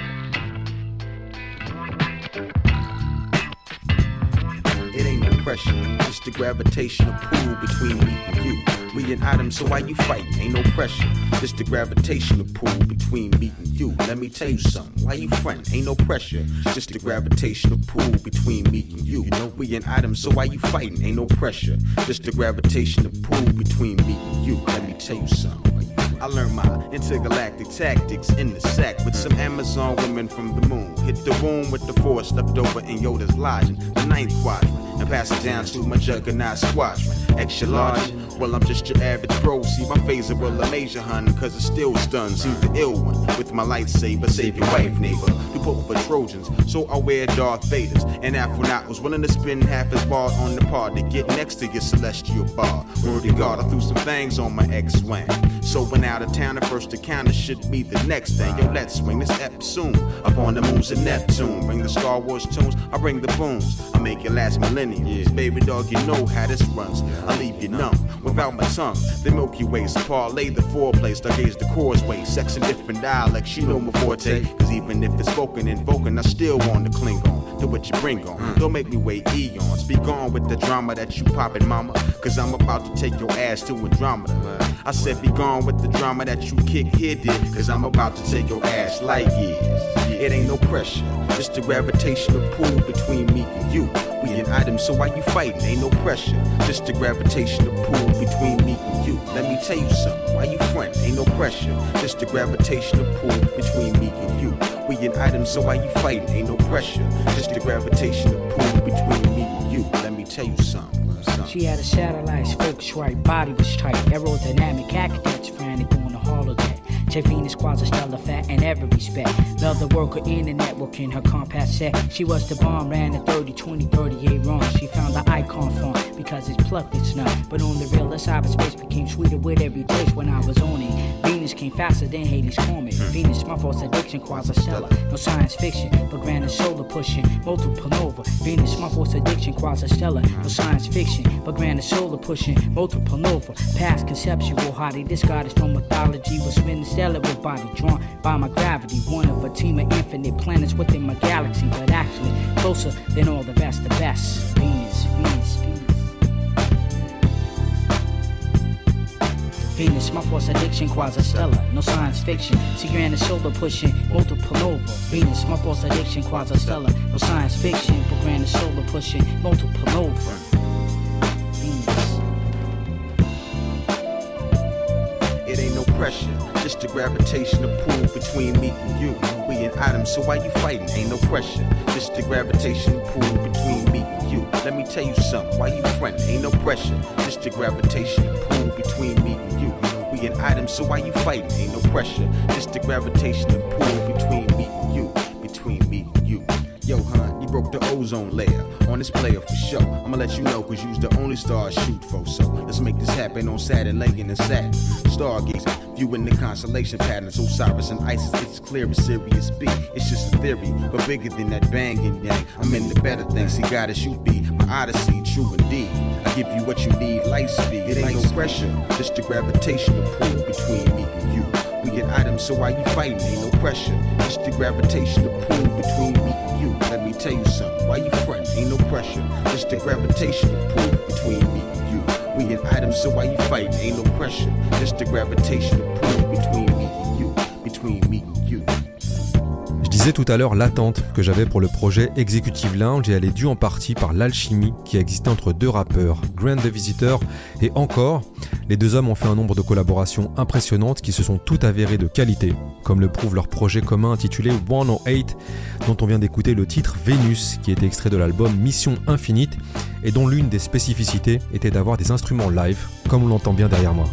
It ain't no pressure, just the gravitational pull between me and you. We an item, so why you fighting? Ain't no pressure, just the gravitational pull between me and you. Let me tell you something, why you frontin'? Ain't no pressure, just the gravitational pull between me and you. You know we an item, so why you fighting? Ain't no pressure, just the gravitational pull between me and you. Let me tell you something. I learned my intergalactic tactics in the sack with some Amazon women from the moon. Hit the room with the force left over in Yoda's lodging, the 9th quadrant, and pass it down to my juggernaut squadron. Extra large, well I'm just your average bro. See my phaser will a major hun, cause it still stuns. See the ill one with my lightsaber, save your wife neighbor. You put for Trojans, so I wear Darth Vaders. And Afronaut was willing to spend half his bar on the part to get next to your celestial bar. Word to God, I threw some things on my X-Wing. So when out of town, the first encounter should be the next thing. Yo, let's swing this ep soon. Upon the moons of Neptune. Bring the Star Wars tunes, I bring the booms. I make it last millennium. Baby dog, you know how this runs. I leave you numb without my tongue. The Milky Way, so parlay the foreplay, stargaze the causeway. Sex in different dialects, you know my forte. Cause even if it's spoken in Vulcan, I still want to cling on to what you bring on. Don't make me wait eons. Be gone with the drama that you poppin', mama. Cause I'm about to take your ass to Andromeda. I said be gone with the drama that you kick here, did. Cause I'm about to take your ass light years. It ain't no pressure, just the gravitational pull between me and you. We an item, so why you fighting? Ain't no pressure, just the gravitational pull between me and you. Let me tell you something, why you frontin'? Ain't no pressure, just the gravitational pull between me and you. We an item, so why you fighting? Ain't no pressure, just the gravitational pull between me and you. Let me tell you something. She had a satellite, focus right, body was tight. Aerodynamic architects frantic on the holodeck. Check Venus, quasi-stellar, fat in every respect. Love the worker in the network in her compact set. She was the bomb, ran a 30, 20, 38 run. She found the icon font because it's plucked, it's not. But on the real, cyberspace became sweeter with every taste when I was on it. Venus came faster than Hades' comet. Venus, my false addiction, quasi-stellar. No science fiction, but granted solar pushing. Multiple nova. Venus, my false addiction, quasi-stellar. No science fiction, but granted solar pushing. Multiple nova. Past conceptual, hottie. This goddess from mythology was spinning stellar with body drawn by my gravity. One of a team of infinite planets within my galaxy, but actually closer than all the best, the best. Venus, Venus, Venus. Venus, my force addiction, quasi-stellar, no science fiction. See granted solar pushing, multiple nova. Venus, my force addiction, quasi-stellar, no science fiction. But granted solar pushing, multiple nova. Venus. It ain't no pressure, just the gravitational pull between me and you. We an item, so why you fighting? Ain't no pressure, just the gravitational pull between me and you. Let me tell you something, why you frontin'? Ain't no pressure, just the gravitational pull between me and you. We an item, so why you fighting? Ain't no pressure, just the gravitational pull between me and you. Between me and you. Yo, hun, you broke the ozone layer on this player for sure. I'ma let you know, cause you's the only star I shoot for. So let's make this happen on Saturn, Lincoln and Saturn. Stargazing, viewing the constellation patterns. Osiris and Isis, it's clear as Sirius B. It's just a theory, but bigger than that banging yang. I'm in the better things, see, goddess, you be my odyssey, true indeed. I give you what you need, light speed. It ain't no pressure, just the gravitational pull between me and you. We an item, so why you fighting? Ain't no pressure, just the gravitational pull between me and you. Let me tell you something, why you frontin'? Ain't no pressure, just the gravitational pull between me and you. We an item, so why you fighting? Ain't no pressure, just the gravitational pull between me and you. Between me and you. Je disais tout à l'heure l'attente que j'avais pour le projet Executive Lounge et elle est due en partie par l'alchimie qui a existé entre deux rappeurs, Grand the Visitor et Encore. Les deux hommes ont fait un nombre de collaborations impressionnantes qui se sont toutes avérées de qualité, comme le prouve leur projet commun intitulé 108, dont on vient d'écouter le titre Vénus, qui était extrait de l'album Mission Infinite et dont l'une des spécificités était d'avoir des instruments live, comme on l'entend bien derrière moi.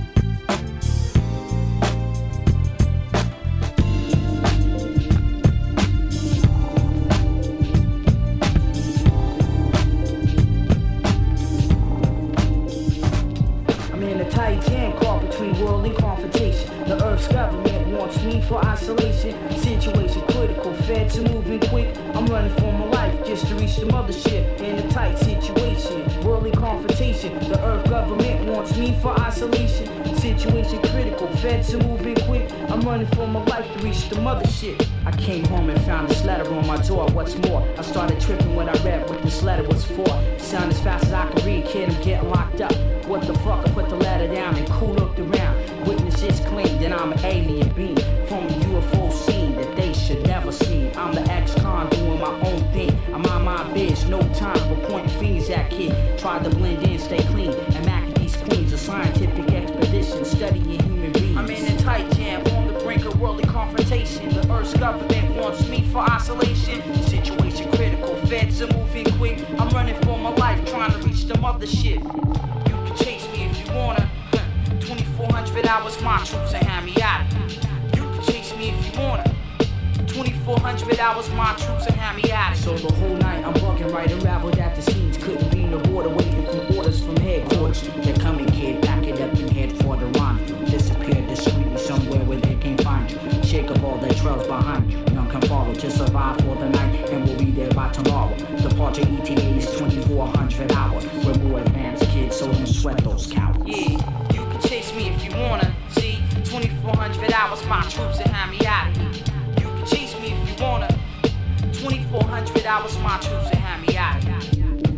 For isolation, situation critical, fed to moving quick. I'm running for my life just to reach the mothership in a tight situation. Worldly confrontation, the earth government wants me for isolation. Situation critical, fed to moving quick. I'm running for my life to reach the mothership. I came home and found this letter on my door. What's more, I started tripping when I read what this letter was for. Sound as fast as I could read, kid, I'm getting locked up. What the fuck? I put the letter down and cool looked around. Witnesses claim that I'm an alien being from a UFO scene that they should never see. I'm the ex-con doing my own thing. I'm on my biz, no time for pointing fingers at kid. Tried to blend in, stay clean, and Mac these queens. A scientific expedition studying human beings. I'm in a tight jam on the brink of worldly confrontation. The Earth's government wants me for isolation. Situation critical, feds are moving quick. I'm running for my life, trying to reach the mothership. You can chase me if you wanna. 2400 hours, my troops and hand me out. You can chase me if you wanna. 2400 hours, my troops and hand me out. So the whole night I'm bugging, right, unraveled at the seams. Couldn't be in the border, waiting for orders from headquarters. They're coming, kid, pack it up and head for the rendezvous. Disappear discreetly somewhere where they can't find you. Shake up all the trails behind you. None can follow, just survive for the night, and we'll be there by tomorrow. Departure ETA is 2400 hours. We're more advanced kids, so don't sweat those cowards. Yeah. Chase me if you wanna. See, 2400 hours, my troops and hand me out of here. You can chase me if you wanna. 2400 hours, my troops and hand me out of here.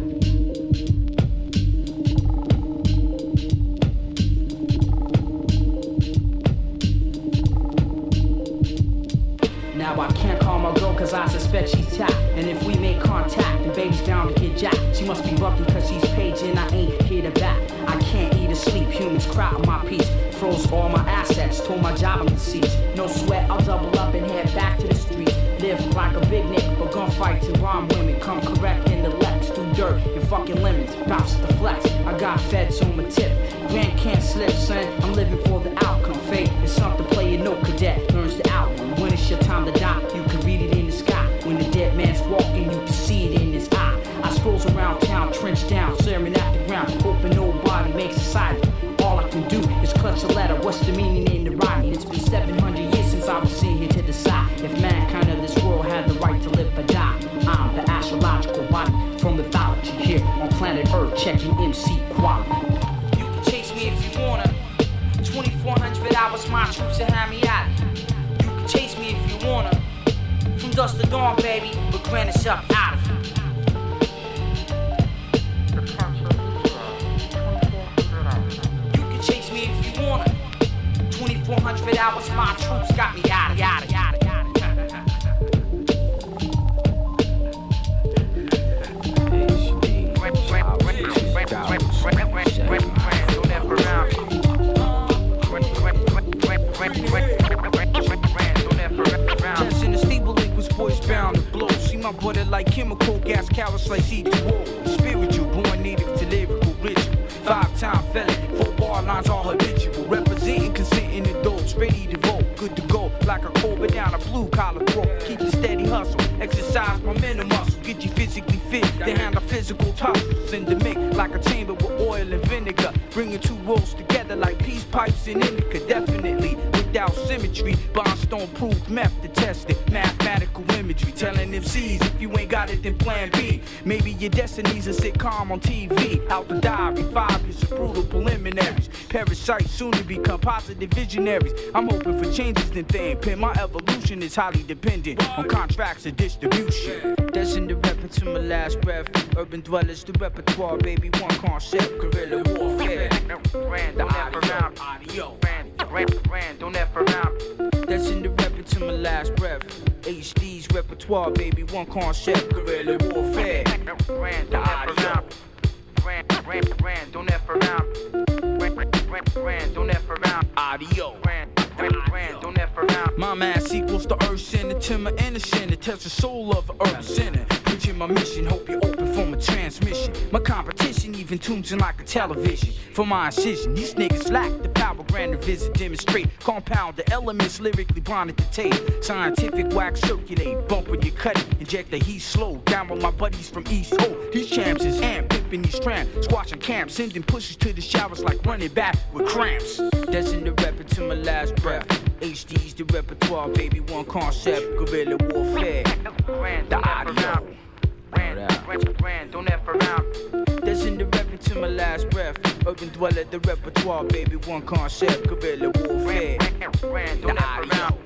Now I can't call my girl cause I suspect she's tapped. And if we make contact, the baby's bound to get jacked. She must be lucky cause she's paging, I ain't here to back. I can't eat or sleep, humans crowd my piece. Froze all my assets, told my job I'm deceased. No sweat, I'll double up and head back to the streets. Live like a big nigga, but gunfights and rhyme women. Come correct in the Lex, do dirt and fucking lemons. Bounce the flex, I got feds on my tip. Grand can't slip, son, I'm living for the outcome. Fate is something player, no cadet learns the outcome. When it's your time to die, you can read it in the sky. When the dead man's walking, you can see it in his eye. I scrolls around town, trench down, staring at the ground, hoping nobody makes a sight. All I can do is clutch a letter. What's the meaning in the writing? It's been 700 years since I was seen here to decide if mankind of this world had the right to live or die. I'm the astrological body from mythology here on planet Earth, checking MC quality. You can chase me if you wanna. 2400 hours, my troops and hand me out. You can chase me if you wanna. From dusk to dawn, baby, but grant us up out of here. You can chase me if you wanna. 2400 hours, my troops got me out of yada yada yada. My brother like chemical gas, cowards like C2O. Spiritual, born native to lyrical ritual. 5-time felon, 4 bar lines all habitual. Representing, consenting adults, ready to vote. Good to go, like a Cobra down a blue collar throat. Keep the steady hustle, exercise my mental muscle. Get you physically fit, to handle physical tussles. In the mix, like a chamber with oil and vinegar. Bringing two worlds together like peace pipes and indica. Definitely, without symmetry. Bondstone proof meth to test it. Mathematical imagery, telling MCs if you ain't got it, then plan B. Maybe your destiny's a sitcom on TV. Out the diary, 5 years of brutal preliminaries. Parasites soon to become positive visionaries. I'm hoping for changes in things. My evolution is highly dependent on contracts and distribution. That's in the rep until my last breath. Urban dwellers, the repertoire, baby, one concept. Guerrilla warfare. Random, adios. don't ever rhyme. That's in the rep to my last breath. HD's repertoire, baby, one concept, guerrilla warfare. The audio. Don't ever rhyme. Don't ever rhyme. Audio. Don't ever rhyme. My mass equals the earth center, timber innocent. It tells the soul of the earth center. Preaching my mission, hope you're open for my transmission. My competition even tunes in like a television. For my incision, these niggas lack the power, grander visit, demonstrate. Compound the elements, lyrically blind at the tape. Scientific wax circulate, bump when you cut it. Inject the heat slow, down with my buddies from East O. These champs is amp, pippin' these tramps. Squashing camps, sending pushes to the showers like running back with cramps. That's in the rep to my last breath. HD's the repertoire, baby, one concept, guerrilla warfare. The audio. Don't ever rhyme. That's in the rep to my last breath. Urban dweller, the repertoire, baby, one concept, guerrilla warfare. The audio.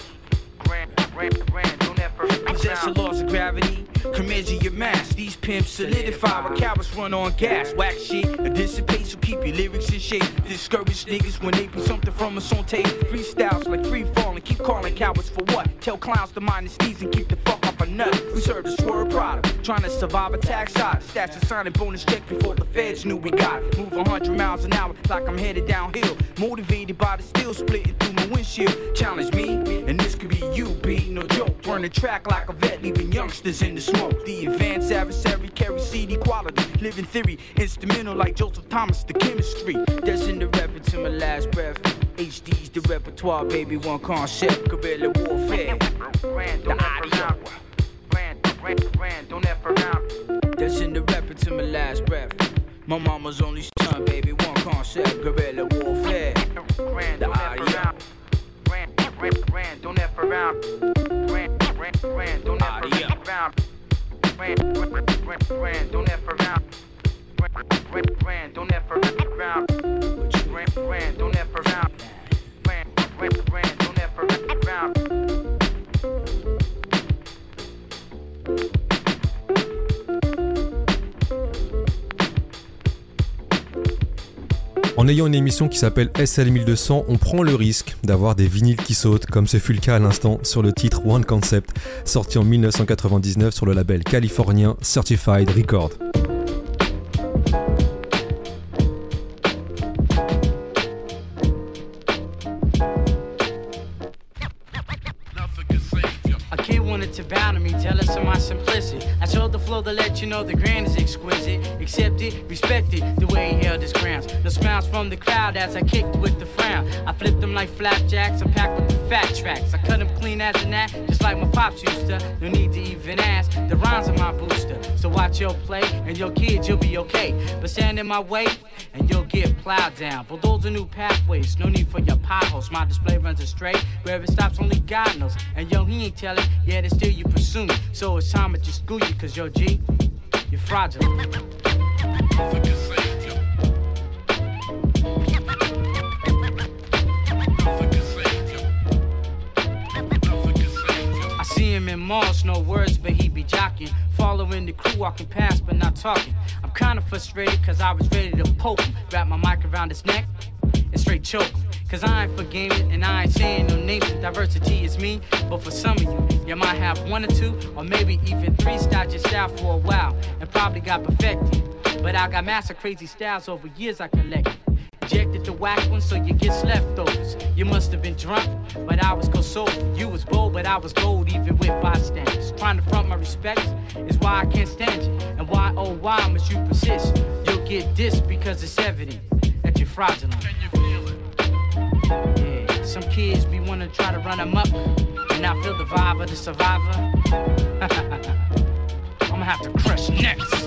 Possess the laws of gravity, come measure your mass. These pimps solidify when cowards run on gas. Whack shit, and dissipate, so keep your lyrics in shape. Discourage niggas when they be something from us on tape. Freestyles like free falling, keep calling cowards for what? Tell clowns to mind the sneeze and keep the fuck up a nut. We serve the swerve product, trying to survive a tax shot. Stats a signing bonus check before the feds knew we got. Move 100 miles an hour like I'm headed downhill. Motivated by the steel splitting through my windshield. Challenge me, and this could be you, B. No joke, burn the track like a vet, leaving youngsters in the smoke. The advanced adversary carry CD quality, living theory, instrumental like Joseph Thomas, the chemistry. That's in the rep to my last breath. HD's the repertoire, baby, one concept, guerrilla warfare. The audio. Don't ever rhyme. That's in the rep to my last breath. My mama's only son, baby, one concept, guerrilla warfare. The audio. Don't ever rhyme. Don't ever rhyme. Don't ever rhyme. Don't ever rhyme. Don't ever rhyme. Don't ever rhyme. En ayant une émission qui s'appelle SL1200, on prend le risque d'avoir des vinyles qui sautent, comme ce fut le cas à l'instant sur le titre One Concept, sorti en 1999 sur le label californien Certified Record. To bow to me, jealous of my simplicity. I showed the flow to let you know the grand is exquisite. Accept it, respect it, the way he held his grounds. No smiles from the crowd as I kicked with the frown. I flipped them like flapjacks, I packed with the fat tracks. I cut them clean as a gnat, just like my pops used to. No need to even ask, the rhymes are my booster. So watch your play, and your kids, you'll be okay. But stand in my way, and you'll get plowed down. Bulldoze new pathways, no need for your potholes. My display runs astray, where it stops only God knows. And yo, he ain't telling, yeah, still you pursue me. So it's time to just school you, cause yo G, you're fraudulent. I see him in malls, no words, but he be jocking. Following the crew, walking past, but not talking. I'm kinda frustrated, cause I was ready to poke him. Wrap my mic around his neck and straight choke him. Cause I ain't for gaming and I ain't saying no names. Diversity is me, but for some of you might have one or two, or maybe even three styles your style for a while, and probably got perfected. But I got master crazy styles over years I collected. Injected the whack one so you get leftovers. You must have been drunk, but I was consoled. You was bold, but I was gold, even with bystanders. Trying to front my respect is why I can't stand you. And why, oh why must you persist? You'll get dissed because it's evident that you're fraudulent. Can you feel it? Yeah, some kids be wanna try to run them up, and I feel the vibe of the survivor. I'ma have to crush next.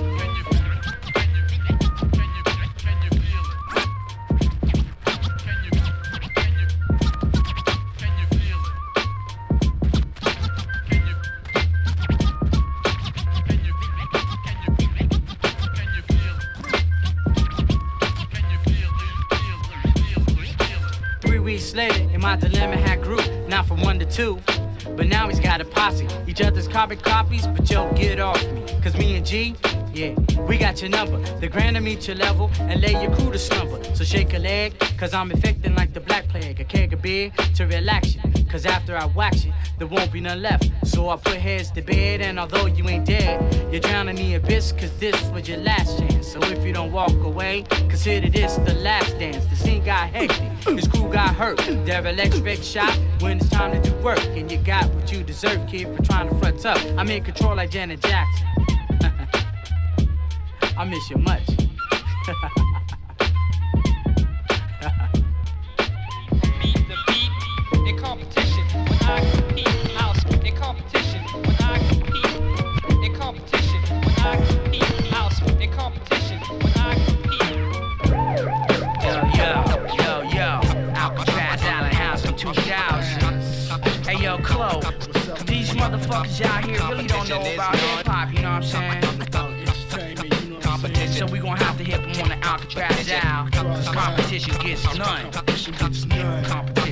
Later, and my dilemma had grew, not from 1 to 2, but now he's got a posse. Each other's carbon copies, but yo, get off me. Cause me and G, Yeah, we got your number. The grander meet your level and lay your crew to slumber. So shake a leg, cause I'm infecting like the black plague. A keg of beer to relax you, cause after I wax you, there won't be none left. So I put heads to bed, and although you ain't dead, you're drowning in the abyss, cause this was your last chance. So if you don't walk away, consider this the last dance. The scene got hectic, his crew got hurt. Devil expect shot when it's time to do work. And you got what you deserve, kid, for trying to front up. I'm in control like Janet Jackson. I miss you much. Beat the beat in competition when I compete. I'll spit in competition when I compete. In competition when I compete. I'll spit in competition when I compete. Yo, Alcatraz Island House in 2000. Hey yo, Chloe, these motherfuckers out here really don't know about hip hop, you know what I'm saying? So we gon' have to hit them on the Alcatraz out. Competition gets none. Competition gets none.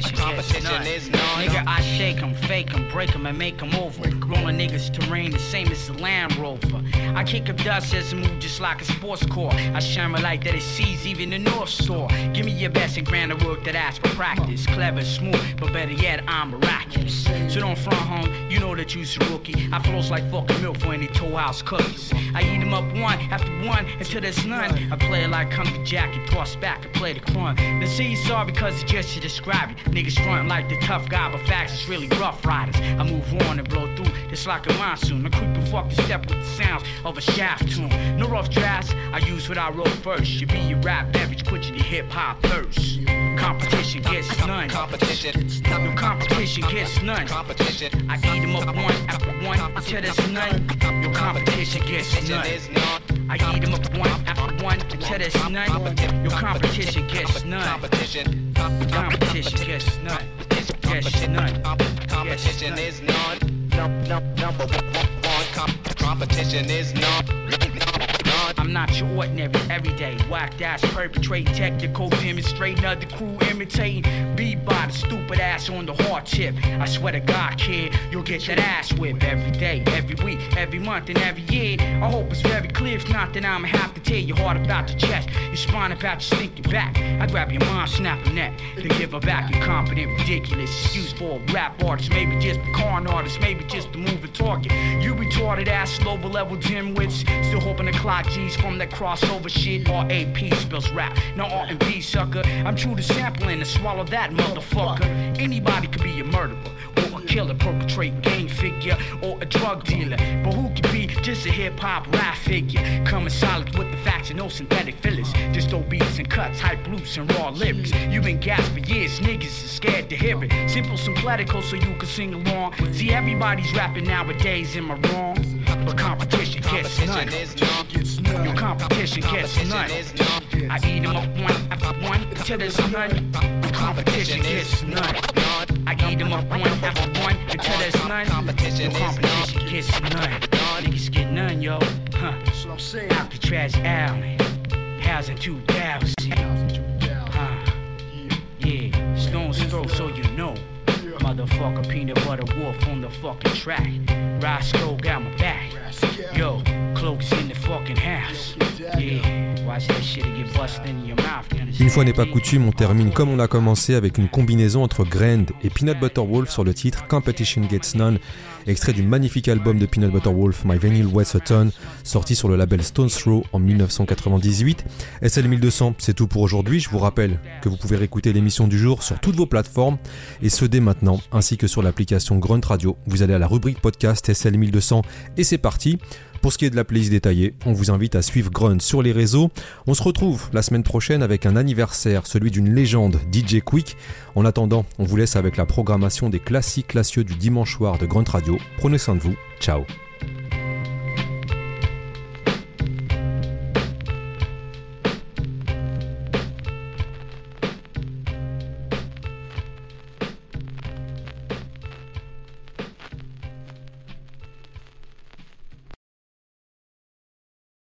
Nigga, I shake them, fake them, break them, and make them over. Rolling niggas terrain the same as the Land Rover. I kick up dust as I move just like a sports car. I shine my light that it sees even the North Star. Give me your best and grander work that asks for practice. Clever, smooth, but better yet, I'm miraculous. So don't front home, you know that you's a rookie. I flows like fucking milk for any Toll House cookies. I eat them up one after one until there's none. I play it like Country Jack and toss back and play the crunk. The seesaw because it's just to describe it. Niggas frontin' like the tough guy, but facts is really rough riders. I move on and blow through, it's like a monsoon. I creep and fuck the step with the sounds of a shaft tune. No rough drafts, I use what I wrote first. You be your rap beverage, quit your hip hop thirst. Competition gets none. No competition gets none. I eat them up one after one until there's none. No competition gets none. I eat them up one after one until there's none. Your competition gets none. Competition gets none. Gets none. Competition is none. Number one. Competition is none. I'm not your ordinary, everyday, whacked ass perpetrating, technical demonstrating, other crew imitating, beat by the stupid ass on the hard tip. I swear to God, kid, you'll get that ass whipped every day, every week, every month, and every year. I hope it's very clear, if not, then I'ma have to tear your heart about your chest, your spine about your stinking back. I grab your mom, snap her neck, then give her back incompetent, ridiculous excuse for a rap artist, maybe just a con artist, maybe just a moving target. You retarded ass, lower level dimwits, still hoping to clock G's from that crossover shit. R.A.P. spells rap, no R&B sucker. I'm true to sampling and swallow that motherfucker. Anybody could be a murderer or a killer, perpetrating gang figure or a drug dealer, but who could be just a hip-hop rap figure? Coming solid with the facts and no synthetic fillers, just throw beats and cuts, hype loose and raw lyrics. You've been gassed for years, niggas is scared to hear it. Simple, sympletical, so you can sing along. See, everybody's rapping nowadays, am I wrong? But competition gets none. Your competition gets none. I eat them up one after one until there's none. Your competition gets none. I eat them up one after one until there's none. Your competition gets none. Niggas get none, yo. Huh. That's what I'm saying. Alcatraz Island. House in 2000. Yeah. Stone's throw, so you know. Motherfucker, peanut butter wolf on the fucking track. Roscoe got my back. Yo, Cloak's in the fucking house. Yeah, watch that shit get busted in your mouth. Une fois n'est pas coutume, on termine comme on a commencé avec une combinaison entre Grand et Peanut Butter Wolf sur le titre Competition Gets None, extrait du magnifique album de Peanut Butter Wolf, My Vinyl Weighs a Ton, sorti sur le label Stone's Throw en 1998. SL 1200, c'est tout pour aujourd'hui. Je vous rappelle que vous pouvez réécouter l'émission du jour sur toutes vos plateformes, et ce dès maintenant, ainsi que sur l'application Grunt Radio. Vous allez à la rubrique podcast SL 1200 et c'est parti. Pour ce qui est de la playlist détaillée, on vous invite à suivre Grunt sur les réseaux. On se retrouve la semaine prochaine avec un anniversaire, celui d'une légende, DJ Quick. En attendant, on vous laisse avec la programmation des classiques classieux du dimanche soir de Grunt Radio. Prenez soin de vous, ciao.